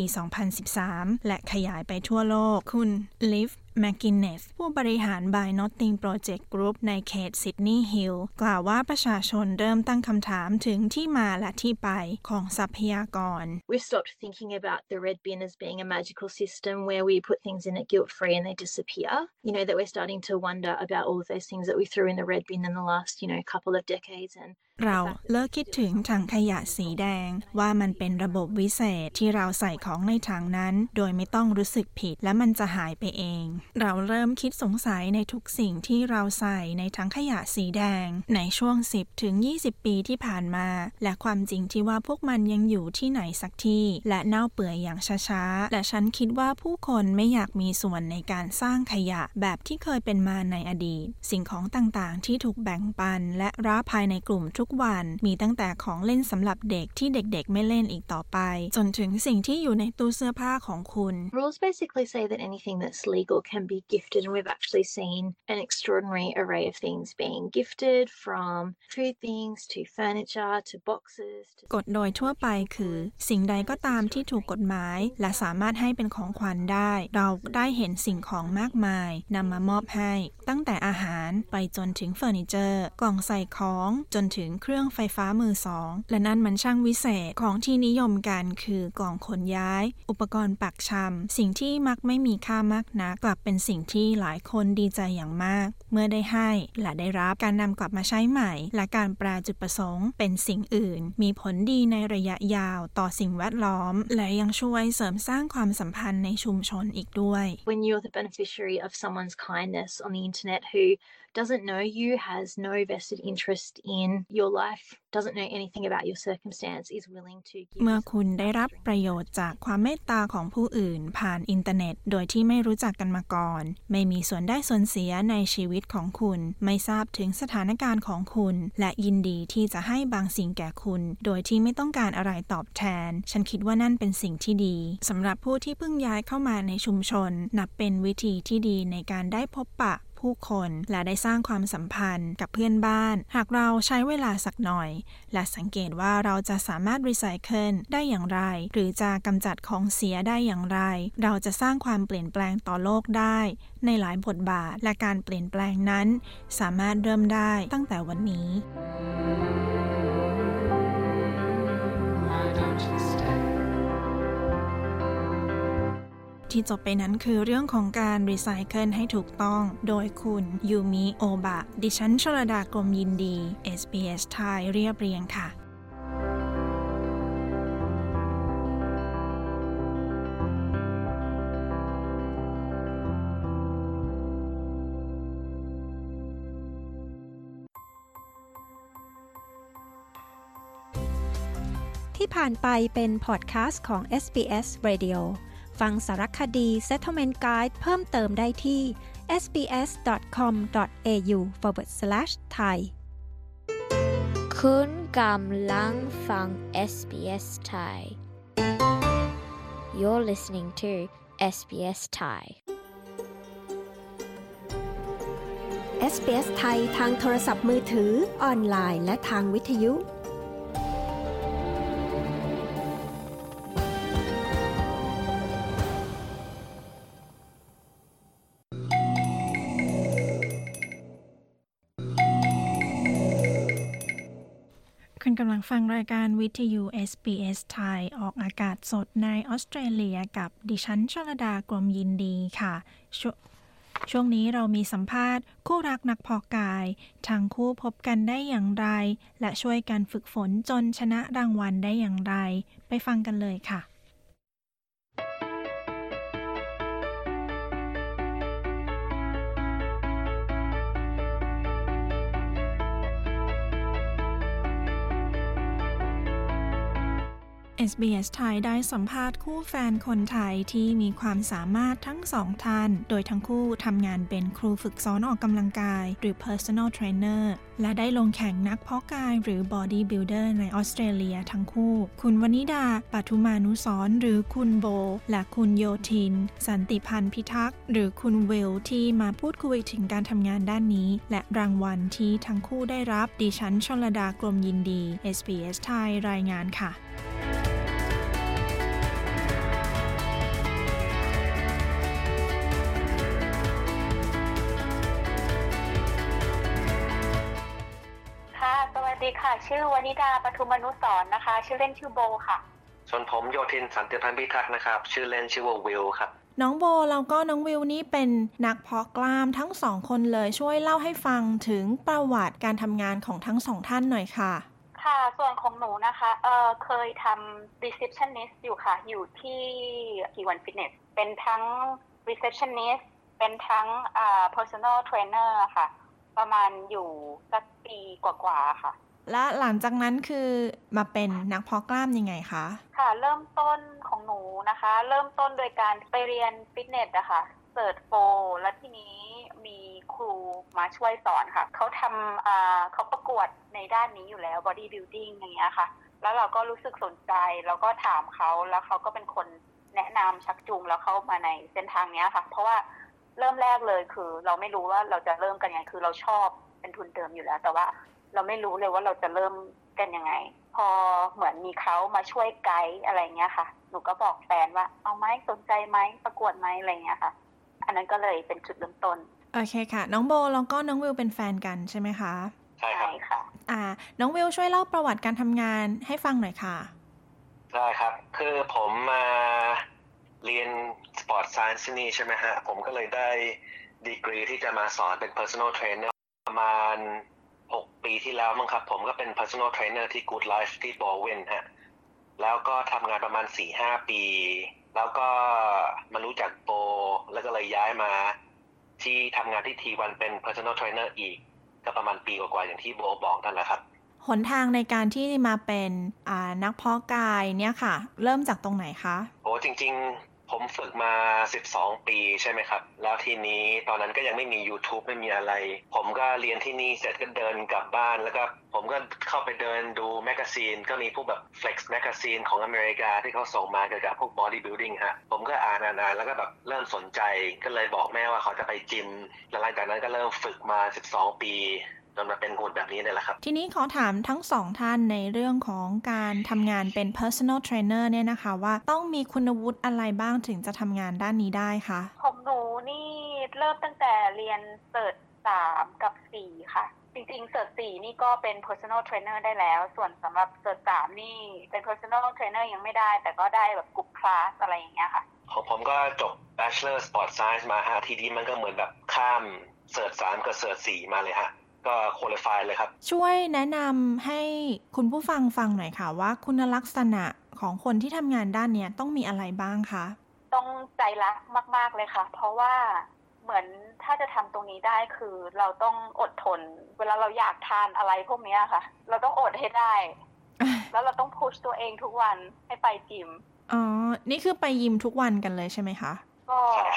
2013 และขยายไปทั่วโลกคุณ Liv McGuinness ผู้บริหาร Buy Nothing Project Group ในเขตซิดนีย์ฮิลล์กล่าวว่าประชาชนเริ่มตั้งคำถามถึงที่มาและที่ไปของทรัพยากร We've stopped thinking about the red bin as being a magical system where we put things in it guilt-free and they disappear. You know, that we're starting to wonder about all of those things that we threw in the red bin in the last, couple of decades and เราเลิกคิดถึงถังขยะสีแดงว่ามันเป็นระบบวิเศษที่เราใส่ของในถังนั้นโดยไม่ต้องรู้สึกผิดและมันจะหายไปเองเราเริ่มคิดสงสัยในทุกสิ่งที่เราใส่ในถังขยะสีแดงในช่วง10 ถึง 20 ปีที่ผ่านมาและความจริงที่ว่าพวกมันยังอยู่ที่ไหนสักที่และเน่าเปื่อยอย่างช้าๆและฉันคิดว่าผู้คนไม่อยากมีส่วนในการสร้างขยะแบบที่เคยเป็นมาในอดีตสิ่งของต่างๆที่ถูกแบ่งปันและรับภายในกลุ่มทุกวันมีตั้งแต่ของเล่นสำหรับเด็กที่เด็กๆไม่เล่นอีกต่อไปจนถึงสิ่งที่อยู่ในตู้เสื้อผ้าของคุณ Rules basically say that anything that's legal can be gifted and we've actually seen an extraordinary array of things being gifted from food things to furniture to boxes กฎโดยทั่วไปคือสิ่งใดก็ตามที่ถูกกฎหมายและสามารถให้เป็นของขวัญได้เราได้เห็นสิ่งของมากมายนำมามอบให้ตั้งแต่อาหารไปจนถึงเฟอร์นิเจอร์กล่องใส่ของจนถึงเครื่องไฟฟ้ามือสองและนั่นมันช่างวิเศษของที่นิยมกันคือกล่องขนย้ายอุปกรณ์ปักชำสิ่งที่มักไม่มีค่ามากนักกลับเป็นสิ่งที่หลายคนดีใจอย่างมากเมื่อได้ให้และได้รับการนำกลับมาใช้ใหม่และการแปลจุดประสงค์เป็นสิ่งอื่นมีผลดีในระยะยาวต่อสิ่งแวดล้อมและยังช่วยเสริมสร้างความสัมพันธ์ในชุมชนอีกด้วย When you're the beneficiary of someone's kindness on the internet who doesn't know you, has no vested interest in your life doesn't know anything about your circumstance is willing to give เมื่อคุณได้รับประโยชน์จากความเมตตาของผู้อื่นผ่านอินเทอร์เน็ตโดยที่ไม่รู้จักกันมาก่อนไม่มีส่วนได้ส่วนเสียในชีวิตของคุณไม่ทราบถึงสถานการณ์ของคุณและยินดีที่จะให้บางสิ่งแก่คุณโดยที่ไม่ต้องการอะไรตอบแทนฉันคิดว่านั่นเป็นสิ่งที่ดีสำหรับผู้ที่เพิ่งย้ายเข้ามาในชุมชนนับเป็นวิธีที่ดีในการได้พบปะผู้คนและได้สร้างความสัมพันธ์กับเพื่อนบ้านหากเราใช้เวลาสักหน่อยและสังเกตว่าเราจะสามารถรีไซเคิลได้อย่างไรหรือจะกำจัดของเสียได้อย่างไรเราจะสร้างความเปลี่ยนแปลงต่อโลกได้ในหลายบทบาทและการเปลี่ยนแปลงนั้นสามารถเริ่มได้ตั้งแต่วันนี้ที่จบไปนั้นคือเรื่องของการรีไซเคิลให้ถูกต้องโดยคุณยูมิโอบะดิฉันชลดากรมยินดี SBS ไทยเรียบเรียงค่ะที่ผ่านไปเป็นพอดแคสต์ของ SBS Radioฟังสารคดี Settlement Guide เพิ่มเติมได้ที่ sbs.com.au/thai คุณกำลังฟัง SBS Thai You're listening to SBS Thai SBS ไทยทางโทรศัพท์มือถือออนไลน์และทางวิทยุคุณกำลังฟังรายการวิทยุ SBS ไทยออกอากาศสดในออสเตรเลียกับดิฉันชลดากรมยินดีค่ะช่วงนี้เรามีสัมภาษณ์คู่รักนักเพาะกายทั้งคู่พบกันได้อย่างไรและช่วยกันฝึกฝนจนชนะรางวัลได้อย่างไรไปฟังกันเลยค่ะ SBS ไทยได้สัมภาษณ์คู่แฟนคนไทยที่มีความสามารถทั้งสองท่านโดยทั้งคู่ทำงานเป็นครูฝึกสอนออกกำลังกายหรือ personal trainer และได้ลงแข่งนักเพาะกายหรือ body builder ในออสเตรเลียทั้งคู่คุณวนิดาปทุมานุสรณ์หรือคุณโบและคุณโยทินสันติพันธ์พิทักษ์หรือคุณวิลที่มาพูดคุยถึงการทำงานด้านนี้และรางวัลที่ทั้งคู่ได้รับดิฉันชลดากรมยินดี SBS ไทยรายงานค่ะสวัสดีค่ะชื่อวนิดาปทุมนุสรณ์นะคะชื่อเล่นชื่อโบค่ะส่วนผมโยทินสันติพันธ์พิทักษ์นะครับชื่อเล่นชื่อว่าวิลครับน้องโบแล้วก็น้องวิลนี่เป็นนักเพาะกล้ามทั้งสองคนเลยช่วยเล่าให้ฟังถึงประวัติการทำงานของทั้งสองท่านหน่อยค่ะค่ะส่วนของหนูนะคะเคยทำ receptionist อยู่ค่ะอยู่ที่T1 Fitness เป็นทั้ง receptionist เป็นทั้งpersonal trainer ค่ะประมาณอยู่สักปีกว่าๆค่ะและหลังจากนั้นคือมาเป็นนักเพาะกล้ามยังไงคะค่ะเริ่มต้นของหนูนะคะเริ่มต้นโดยการไปเรียนฟิตเนสนะคะเสิร์ชโฟแล้วทีนี้มีครูมาช่วยสอนค่ะเขาทำเขาประกวดในด้านนี้อยู่แล้ว body building อย่างเงี้ยค่ะแล้วเราก็รู้สึกสนใจแล้วก็ถามเขาแล้วเขาก็เป็นคนแนะนำชักจูงแล้วเข้ามาในเส้นทางนี้ค่ะเพราะว่าเริ่มแรกเลยคือเราไม่รู้ว่าเราจะเริ่มกันยังไงคือเราชอบเป็นทุนเดิมอยู่แล้วแต่ว่าเราไม่รู้เลยว่าเราจะเริ่มกันยังไงพอเหมือนมีเขามาช่วยไกด์อะไรเงี้ยค่ะหนูก็บอกแฟนว่าเอาไหมสนใจไหมประกวดไหมอะไรเงี้ยค่ะอันนั้นก็เลยเป็นจุดเริ่มต้นโอเคค่ะน้องโบแล้วก็น้องวิวเป็นแฟนกันใช่ไหมคะใช่ค่ะน้องวิวช่วยเล่าประวัติการทำงานให้ฟังหน่อยค่ะได้ครับคือผมมาเรียน Sport Science นี่ใช่ไหมฮะผมก็เลยได้ดีกรีที่จะมาสอนเป็น Personal Trainer ประมาณ6 ปีที่แล้วมั้งครับผมก็เป็น Personal Trainer ที่ Good Life ที่ Bowen ฮะแล้วก็ทำงานประมาณ 4-5 ปีแล้วก็มารู้จักโบแล้วก็เลยย้ายมาที่ทำงานที่ T1 เป็น Personal Trainer อีกก็ประมาณปีกว่าๆอย่างที่โบบอกนั่นแหละครับหนทางในการที่มาเป็นนักเพาะกายเนี่ยค่ะเริ่มจากตรงไหนคะโอ้จริงๆผมฝึกมา12ปีใช่ไหมครับแล้วทีนี้ตอนนั้นก็ยังไม่มี YouTube ไม่มีอะไรผมก็เรียนที่นี่เสร็จก็เดินกลับบ้านแล้วก็ผมก็เข้าไปเดินดูแมกกาซีนก็มีพวกแบบ Flex แมกกาซีนของอเมริกาที่เขาส่งมาเกี่ยวกับพวก bodybuilding ฮะผมก็อ่านแล้วก็แบบเริ่มสนใจก็เลยบอกแม่ว่าเขาจะไปจิมแล้วหลังจากนั้นก็เริ่มฝึกมา12ปีจนมาเป็นหุ่นแบบนี้นี่แหละครับทีนี้ขอถามทั้งสองท่านในเรื่องของการทำงานเป็น personal trainer เนี่ยนะคะว่าต้องมีคุณวุฒิอะไรบ้างถึงจะทำงานด้านนี้ได้คะของหนูนี่เริ่มตั้งแต่เรียนเสิร์ช3กับ4ค่ะจริงๆเสิร์ช4นี่ก็เป็น personal trainer ได้แล้วส่วนสำหรับเสิร์ช3นี่เป็น personal trainer ยังไม่ได้แต่ก็ได้แบบกลุ่มคลาสอะไรอย่างเงี้ยค่ะของผมก็จบ Bachelor Sport Science มาฮะทีนี้มันก็เหมือนแบบข้ามเสิร์ช3กับเสิร์ช4มาเลยฮะก็คุริฟายเลยครับช่วยแนะนำให้คุณผู้ฟังฟังหน่อยค่ะว่าคุณลักษณะของคนที่ทำงานด้านนี้ต้องมีอะไรบ้างคะต้องใจรักมากๆเลยค่ะเพราะว่าเหมือนถ้าจะทำตรงนี้ได้คือเราต้องอดทนเวลาเราอยากทานอะไรพวกนี้ค่ะเราต้องอดให้ได้ แล้วเราต้องพุชตัวเองทุกวันให้ไปจิมอ๋อนี่คือไปยิมทุกวันกันเลยใช่ไหมคะก็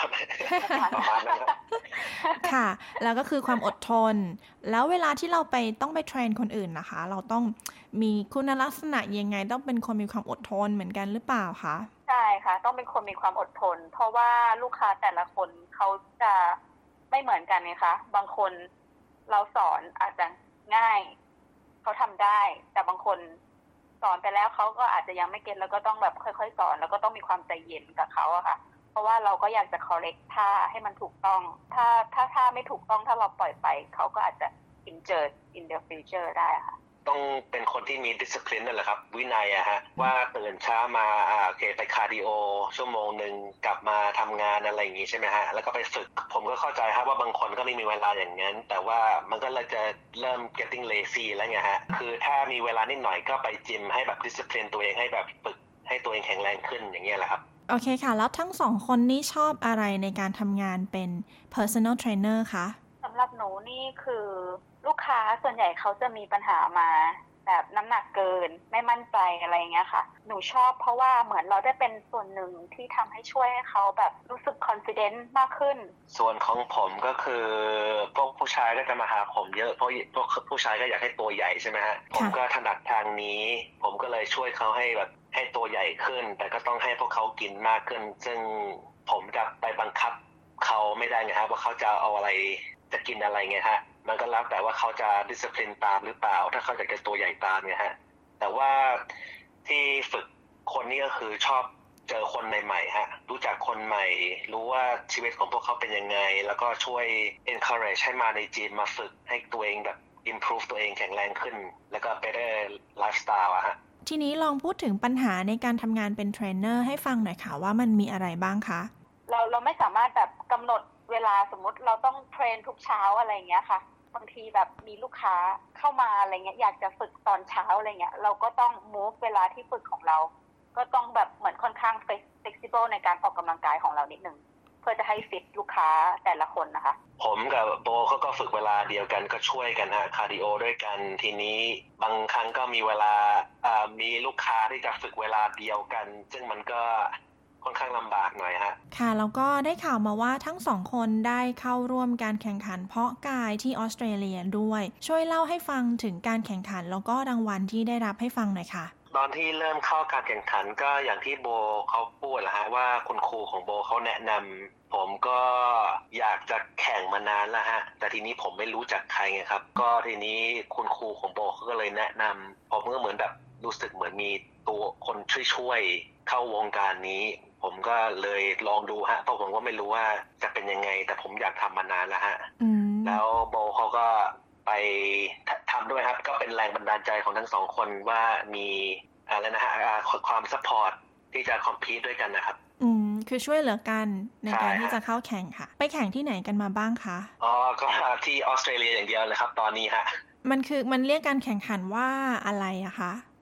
ค่ะแล้วก็คือความอดทนแล้วเวลาที่เราต้องไปเทรนคนอื่นนะคะเราต้องมีคุณลักษณะยังไงต้องเป็นคนมีความอดทนเหมือนกันหรือเปล่าคะใช่ค่ะต้องเป็นคนมีความอดทนเพราะว่าลูกค้าแต่ละคนเขาจะไม่เหมือนกันไงคะบางคนเราสอนอาจจะง่ายเขาทำได้แต่บางคนสอนไปแล้วเขาก็อาจจะยังไม่เก็ตแล้วก็ต้องแบบค่อยๆสอนแล้วก็ต้องมีความใจเย็นกับเขาอะค่ะเพราะว่าเราก็อยากจะ correct ท่าให้มันถูกต้องถ้าไม่ถูกต้องถ้าเราปล่อยไปเขาก็อาจจะ injure in the future ได้ค่ะต้องเป็นคนที่มี discipline นั่นแหละครับวินัยอะฮะว่าตื่นเช้ามาโอเคไปคาร์ดิโอชั่วโมงนึงกลับมาทำงานอะไรอย่างงี้ใช่ไหมฮะแล้วก็ไปฝึกผมก็เข้าใจครับว่าบางคนก็ไม่มีเวลาอย่างนั้นแต่ว่ามันก็เลยจะเริ่ม getting lazy แล้วไงฮะคือถ้ามีเวลานิดหน่อยก็ไปจิมให้แบบ discipline ตัวเองให้แบบฝึกให้ตัวเองแข็งแรงขึ้นอย่างเงี้ยแหละครับโอเคค่ะแล้วทั้งสองคนนี่ชอบอะไรในการทำงานเป็น personal trainer คะสำหรับหนูนี่คือลูกค้าส่วนใหญ่เขาจะมีปัญหามาแบบน้ำหนักเกินไม่มั่นใจอะไรอย่างเงี้ยค่ะหนูชอบเพราะว่าเหมือนเราได้เป็นส่วนหนึ่งที่ทำให้ช่วยให้เขาแบบรู้สึก confident มากขึ้นส่วนของผมก็คือพวกผู้ชายก็จะมาหาผมเยอะเพราะพวกผู้ชายก็อยากให้ตัวใหญ่ใช่ไหมฮะผมก็ถนัดทางนี้ผมก็เลยช่วยเขาให้แบบให้ตัวใหญ่ขึ้นแต่ก็ต้องให้พวกเขากินมากขึ้นซึ่งผมจะไปบังคับเขาไม่ได้ไงฮะว่าเขาจะเอาอะไรจะกินอะไรไงฮะมันก็แล้วแต่ว่าเขาจะดิสซิปลินตามหรือเปล่าถ้าเขาอยากจะตัวใหญ่ตามไงฮะแต่ว่าที่ฝึกคนนี้ก็คือชอบเจอคนใหม่ๆฮะรู้จักคนใหม่รู้ว่าชีวิตของพวกเขาเป็นยังไงแล้วก็ช่วย encourage ให้มาในจิมมาฝึกให้ตัวเองแบบ improve ตัวเองแข็งแรงขึ้นแล้วก็ better lifestyle อะฮะทีนี้ลองพูดถึงปัญหาในการทำงานเป็นเทรนเนอร์ให้ฟังหน่อยค่ะว่ามันมีอะไรบ้างคะเราไม่สามารถแบบกำหนดเวลาสมมุติเราต้องเทรนทุกเช้าอะไรอย่างเงี้ยค่ะบางทีแบบมีลูกค้าเข้ามาอะไรเงี้ยอยากจะฝึกตอนเช้าอะไรเงี้ยเราก็ต้อง move เวลาที่ฝึกของเราก็ต้องแบบเหมือนค่อนข้าง flexible ในการออกกำลังกายของเรานิดนึงเพื่อจะให้ฟิตลูกค้าแต่ละคนนะคะผมกับโบเขาก็ฝึกเวลาเดียวกันก็ช่วยกันฮะคาร์ดิโอด้วยกันทีนี้บางครั้งก็มีเวลามีลูกค้าที่จะฝึกเวลาเดียวกันซึ่งมันก็ค่อนข้างลำบากหน่อยฮะค่ะแล้วก็ได้ข่าวมาว่าทั้งสองคนได้เข้าร่วมการแข่งขันเพาะกายที่ออสเตรเลียด้วยช่วยเล่าให้ฟังถึงการแข่งขันแล้วก็รางวัลที่ได้รับให้ฟังหน่อยค่ะตอนที่เริ่มเข้าการแข่งขันก็อย่างที่โบเขาพูดแหละฮะว่าคุณครูของโบเขาแนะนำผมก็อยากจะแข่งมานานแล้วฮะแต่ทีนี้ผมไม่รู้จักใครไงครับก็ทีนี้คุณครูของโบเขาก็เลยแนะนำผมก็เหมือนแบบรู้สึกเหมือนมีตัวคนช่วยเข้าวงการนี้ผมก็เลยลองดูฮะเพราะผมก็ไม่รู้ว่าจะเป็นยังไงแต่ผมอยากทำมานานแล้วฮะแล้วโบเขาก็ไปทำด้วยครับก็เป็นแรงบันดาลใจของทั้งสองคนว่ามีอะไรนะฮะความซัพพอร์ตที่จะคอมพีทด้วยกันนะครับคือช่วยเหลือกันในการที่จะเข้าแข่งค่ะไปแข่งที่ไหนกันมาบ้างคะก็ที่ออสเตรเลียอย่างเดียวเลยครับตอนนี้ฮะมันเรียกการแข่งขันว่าอะไรอะคะ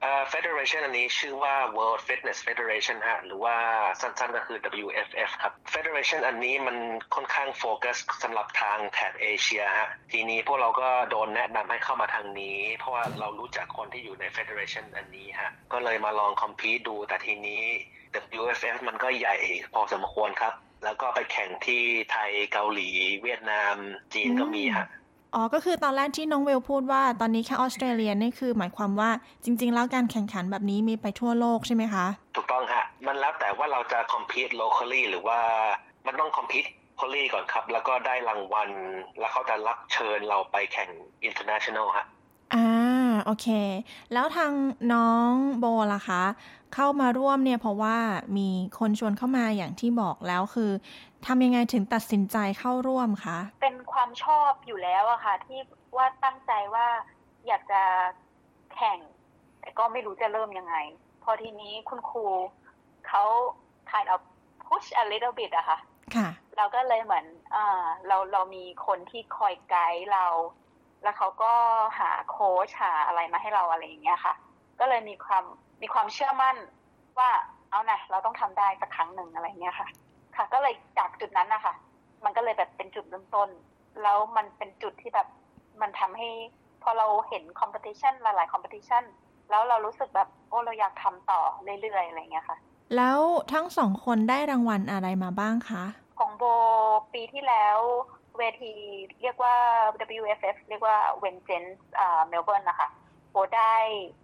Federation อันนี้ชื่อว่า World Fitness Federation ฮะหรือว่าสั้นๆก็คือ WFF ครับ Federation อันนี้มันค่อนข้างโฟกัสสำหรับทางแถบเอเชียฮะทีนี้พวกเราก็โดนแนะนำให้เข้ามาทางนี้เพราะว่าเรารู้จักคนที่อยู่ใน Federation อันนี้ฮะก็เลยมาลองคอมพีทดูแต่ทีนี้ WFF มันก็ใหญ่พอสมควรครับแล้วก็ไปแข่งที่ไทยเกาหลีเวียดนามจีนก็มีฮะก็คือตอนแรกที่น้องเวลพูดว่าตอนนี้แค่ออสเตรเลียนี่คือหมายความว่าจริงๆแล้วการแข่งขันแบบนี้มีไปทั่วโลกใช่ไหมคะถูกต้องฮะมันแล้วแต่ว่าเราจะ compete locally หรือว่ามันต้อง compete locally ก่อนครับแล้วก็ได้รางวัลแล้วเขาจะรับเชิญเราไปแข่ง international ฮะโอเคแล้วทางน้องโบล่ะคะเข้ามาร่วมเนี่ยเพราะว่ามีคนชวนเข้ามาอย่างที่บอกแล้วคือทำยังไงถึงตัดสินใจเข้าร่วมคะเป็นความชอบอยู่แล้วอะค่ะที่ว่าตั้งใจว่าอยากจะแข่งแต่ก็ไม่รู้จะเริ่มยังไงพอทีนี้คุณครูเขา kind of push a little bit อะค่ะเราก็เลยเหมือนเรามีคนที่คอยไกด์เราแล้วเขาก็หาโค้ชหาอะไรมาให้เราอะไรอย่างเงี้ยค่ะก็เลยมีความเชื่อมั่นว่าเอานะเราต้องทำได้สักครั้งหนึ่งอะไรเงี้ยค่ะก็เลยจากจุดนั้นนะคะมันก็เลยแบบเป็นจุดเริ่มต้นแล้วมันเป็นจุดที่แบบมันทำให้พอเราเห็นคอมเพติชันหลายๆคอมเพติชันแล้วเรารู้สึกแบบเราอยากทำต่อเรื่อยๆอะไรเงี้ยค่ะแล้วทั้งสองคนได้รางวัลอะไรมาบ้างคะของโบปีที่แล้วเวทีเรียกว่า WFF เรียกว่า Vengeance Melbourne นะคะโบได้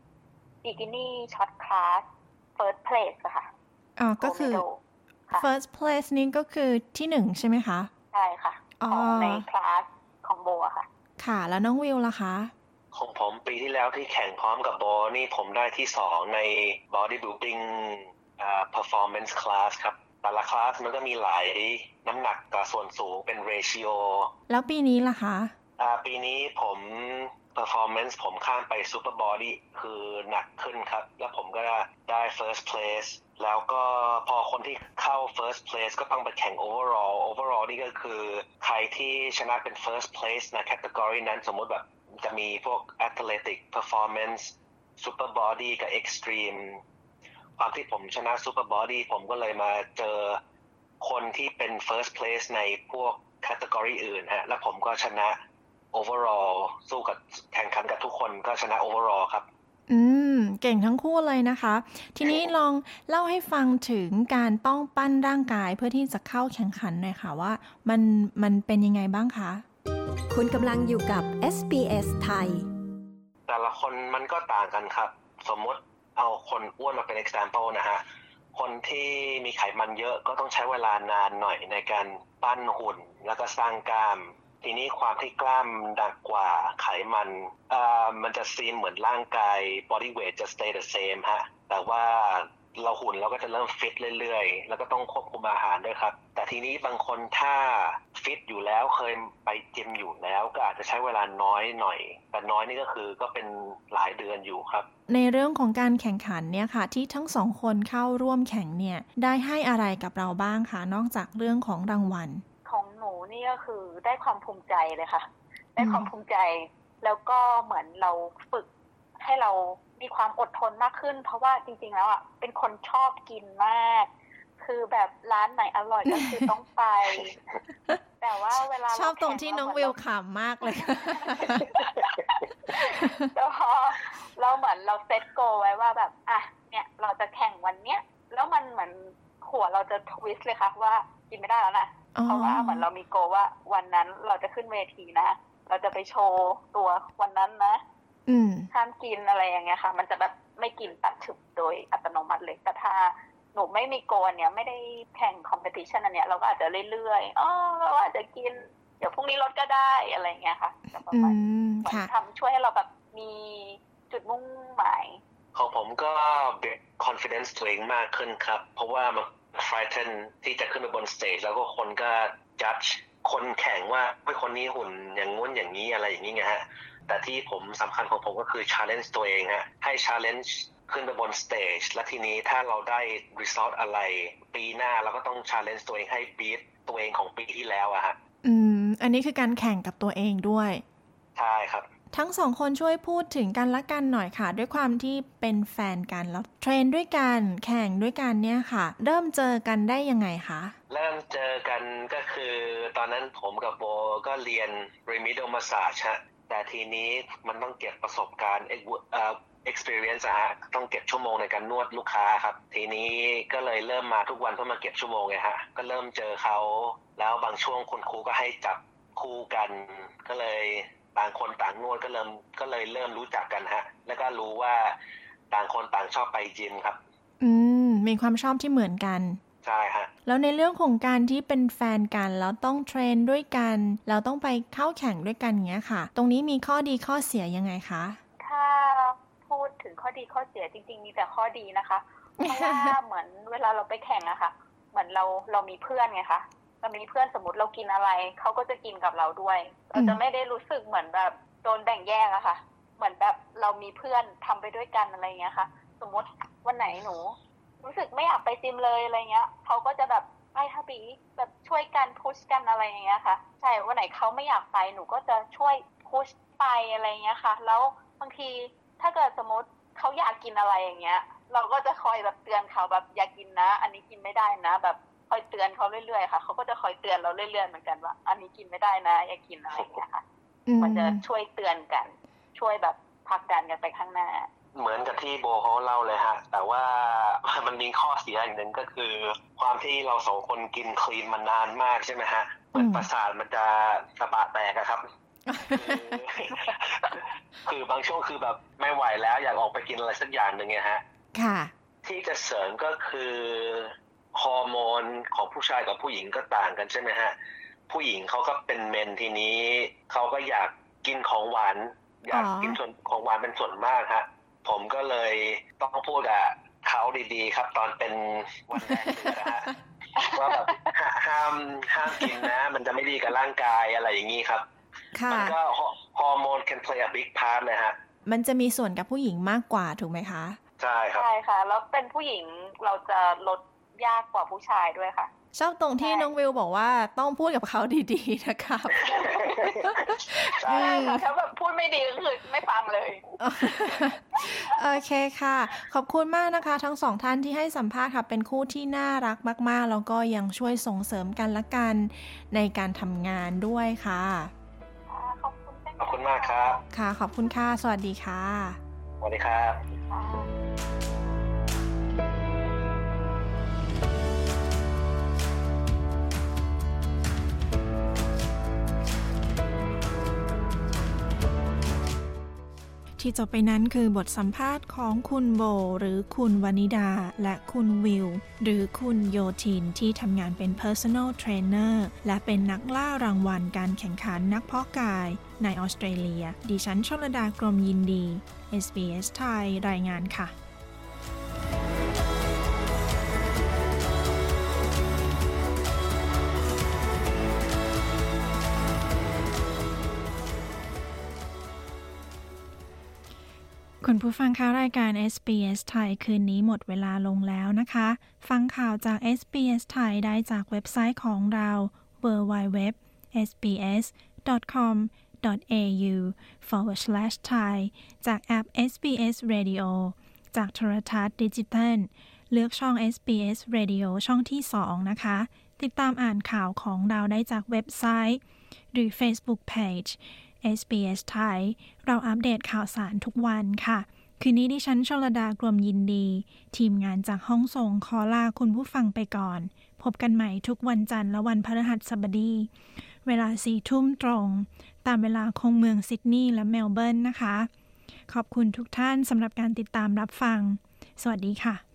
Bikini Shot Class First Place ค่ะก็คือ First Place นี้ก็คือที่หนึ่งใช่ไหมคะใช่ค่ะของในคลาสของโบค่ะค่ะแล้วน้องวิวล่ะคะของผมปีที่แล้วที่แข่งพร้อมกับโบนี่ผมได้ที่2ใน Bodybuilding Performance Class ครับแต่ละคลาสมันก็มีหลายน้ำหนักกับส่วนสูงเป็น ratio แล้วปีนี้ล่ะคะปีนี้ผม performance ผมข้ามไป super body คือหนักขึ้นครับแล้วผมก็ได้ first place แล้วก็พอคนที่เข้า first place ก็ต้องไปแข่ง overall นี่ก็คือใครที่ชนะเป็น first place ใน category นั้นสมมติแบบจะมีพวก athletic performance super body กับ extremeความที่ผมชนะ super body ผมก็เลยมาเจอคนที่เป็น first place ในพวก category อื่นฮะแล้วผมก็ชนะ overall สู้กับแข่งขันกับทุกคนก็ชนะ overall ครับเก่งทั้งคู่เลยนะคะทีนี้ลองเล่าให้ฟังถึงการต้องปั้นร่างกายเพื่อที่จะเข้าแข่งขันหน่อยค่ะว่ามันเป็นยังไงบ้างคะคุณกำลังอยู่กับ SBS ไทยแต่ละคนมันก็ต่างกันครับสมมติเอาคนอ้วนมาเป็น example นะฮะคนที่มีไขมันเยอะก็ต้องใช้เวลานานหน่อยในการปั้นหุ่นแล้วก็สร้างกล้ามทีนี้ความที่กล้ามหนักกว่าไขมันมันจะซีมเหมือนร่างกาย body weight จะ stay the same ฮะแต่ว่าเราหุ่นเราก็จะเริ่มฟิตเรื่อยๆแล้วก็ต้องควบคุมอาหารด้วยครับแต่ทีนี้บางคนถ้าฟิตอยู่แล้วเคยไปจิมอยู่แล้วก็อาจจะใช้เวลาน้อยหน่อยแต่น้อยนี่ก็เป็นหลายเดือนอยู่ครับในเรื่องของการแข่งขันเนี่ยค่ะที่ทั้งสองคนเข้าร่วมแข่งเนี่ยได้ให้อะไรกับเราบ้างคะนอกจากเรื่องของรางวัลของหนูนี่ก็คือได้ความภูมิใจเลยค่ะได้ความภูมิใจแล้วก็เหมือนเราฝึกให้เรามีความอดทนมากขึ้นเพราะว่าจริงๆแล้วเป็นคนชอบกินมากคือแบบร้านไหนอร่อยก็คือต้องไปแต่ว่าเวลาชอบตรงที่น้องวิวขำมากเลยแล้วพอเราเหมือนเราเซตโกไว้ว่าแบบเนี่ยเราจะแข่งวันเนี้ยแล้วมันเหมือนหัวเราจะทวิสต์เลยค่ะว่ากินไม่ได้แล้วนะเพราะว่าเหมือนเรามีโกว่าวันนั้นเราจะขึ้นเวทีนะเราจะไปโชว์ตัววันนั้นนะห้ามกินอะไรอย่างเงี้ยค่ะมันจะแบบไม่กินตัดฉุบโดยอัตโนมัติเลยแต่ถ้าหนูไม่มีโกนเนี่ยไม่ได้แข่งคอมเพติชันอันเนี้ยเราก็อาจจะเรื่อยๆเราอาจจะกินเดี๋ยวพรุ่งนี้ลดก็ได้อะไรเงี้ยค่ะแต่ประมาณมันทำช่วยให้เราแบบมีจุดมุ่งหมายของผมก็เบิลด์ confidence ตัวเองมากขึ้นครับเพราะว่ามัน frighten ที่จะขึ้นไปบนสเตจแล้วก็คนก็ judge คนแข่งว่าคนนี้หุ่นอย่างงู้นอย่างนี้อะไรอย่างนี้ไงฮะแต่ที่ผมสำคัญของผมก็คือ challenge ตัวเองฮะให้ challenge ขึ้นไปบนสเตจและทีนี้ถ้าเราได้ result อะไรปีหน้าเราก็ต้อง challenge ตัวเองให้ beat ตัวเองของปีที่แล้วอะฮะอันนี้คือการแข่งกับตัวเองด้วยใช่ครับทั้งสองคนช่วยพูดถึงกันและกันหน่อยค่ะด้วยความที่เป็นแฟนกันแล้วเทรนด้วยกันแข่งด้วยกันเนี่ยค่ะเริ่มเจอกันได้ยังไงคะเริ่มเจอกันก็คือตอนนั้นผมกับโบก็เรียน Remedial Massage ฮะแต่ทีนี้มันต้องเก็บประสบการณ์experience ฮะต้องเก็บชั่วโมงในการนวดลูกค้าครับทีนี้ก็เลยเริ่มมาทุกวันเพื่อมาเก็บชั่วโมงไงฮะก็เริ่มเจอเขาแล้วบางช่วงคุณครูก็ให้จับคู่กันก็เลยต่างคนต่างนวดก็เลยเริ่มรู้จักกันฮะแล้วก็รู้ว่าต่างคนต่างชอบไปยิมครับมีความชอบที่เหมือนกันใช่ฮะแล้วในเรื่องของการที่เป็นแฟนกันแล้วต้องเทรนด้วยกันแล้วต้องไปเข้าแข่งด้วยกันเงี้ยค่ะตรงนี้มีข้อดีข้อเสียยังไงคะถ้าพูดถึงข้อดีข้อเสียจริงๆมีแต่ข้อดีนะคะเพราะว่าเหมือนเวลาเราไปแข่งอะค่ะเหมือนเรามีเพื่อนไงคะเรามีเพื่อนสมมติเรากินอะไรเขาก็จะกินกับเราด้วยเราจะไม่ได้รู้สึกเหมือนแบบโดนแบ่งแยกอะค่ะเหมือนแบบเรามีเพื่อนทำไปด้วยกันอะไรเงี้ยค่ะสมมติวันไหนหนูรู้สึกไม่อยากไปจิมเลยอะไรเงี้ยเขาก็จะแบบไปฮะบีแบบช่วยกันพุชกันอะไรอย่างเงี้ยค่ะใช่วันไหนเขาไม่อยากไปหนูก็จะช่วยพุชไปอะไรเงี้ยค่ะแล้วบางทีถ้าเกิดสมมติเขาอยากกินอะไรอย่างเงี้ยเราก็จะคอยแบบเตือนเขาแบบอย่ากินนะอันนี้กินไม่ได้นะแบบคอยเตือนเขาเรื่อยๆค่ะเขาก็จะคอยเตือนเราเรื่อยๆเหมือนกันว่าอันนี้กินไม่ได้นะอย่ากินอะไรอย่างเงี้ยค่ะมันจะช่วยเตือนกันช่วยแบบผลักดันกันไปข้างหน้าเหมือนกับที่โบเขาเล่าเลยฮะแต่ว่ามันมีข้อเสียอย่างหนึ่งก็คือความที่เราสองคนกินคลีนมานานมากใช่ไหมฮะเหมือนประสาทมันจะสะบะแตกครับ คือบางช่วงคือแบบไม่ไหวแล้วอยากออกไปกินอะไรสักอย่างหนึ่งไงฮะค่ะที่จะเสริมก็คือฮอร์โมนของผู้ชายกับผู้หญิงก็ต่างกันใช่ไหมฮะผู้หญิงเขาก็เป็นเมนทีนี้เขาก็อยากกินของหวานอยากกินของหวานเป็นส่วนมากฮะผมก็เลยต้องพูดกับเขาดีๆครับตอนเป็นวันแรกนะฮะว่าแบบห้ามกินนะมันจะไม่ดีกับร่างกายอะไรอย่างนี้ครับมันก็ฮอร์โมน can play a big part เลยฮะมันจะมีส่วนกับผู้หญิงมากกว่าถูกไหมคะใช่ครับใช่ค่ะแล้วเป็นผู้หญิงเราจะลดยากกว่าผู้ชายด้วยค่ะชอบตรงที่น้องวิวบอกว่าต้องพูดกับเขาดีๆนะครับใช่ค่ะถ้าแบบพูดไม่ดีก็คือไม่ฟังเลยโอเคค่ะขอบคุณมากนะคะทั้งสองท่านที่ให้สัมภาษณ์ค่ะเป็นคู่ที่น่ารักมากๆแล้วก็ยังช่วยส่งเสริมกันและกันในการทำงานด้วยค่ะขอบคุณมากครับค่ะขอบคุณค่ะสวัสดีค่ะสวัสดีครับที่จบไปนั้นคือบทสัมภาษณ์ของคุณโบหรือคุณวนิดาและคุณวิวหรือคุณโยทินที่ทำงานเป็น Personal Trainer และเป็นนักล่ารางวัลการแข่งขันนักเพาะกายในออสเตรเลียดิฉันชลดากรมยินดี SBS ไทยรายงานค่ะคุณผู้ฟังคะรายการ SBS ไทยคืนนี้หมดเวลาลงแล้วนะคะฟังข่าวจาก SBS ไทยได้จากเว็บไซต์ของเรา www.sbs.com.au/thai จากแอป SBS Radio จากโทรทัศน์ดิจิทัลเลือกช่อง SBS Radio ช่องที่ 2 นะคะติดตามอ่านข่าวของเราได้จากเว็บไซต์หรือ Facebook Page SBS ไทยเราอัปเดตข่าวสารทุกวันค่ะคืนนี้ดิฉันชลดากรมยินดีทีมงานจากห้องส่งขอลาคุณผู้ฟังไปก่อนพบกันใหม่ทุกวันจันทร์และวันพฤหัสบดีเวลา 4 ทุ่มตรงตามเวลาของเมืองซิดนีย์และเมลเบิร์นนะคะขอบคุณทุกท่านสำหรับการติดตามรับฟังสวัสดีค่ะ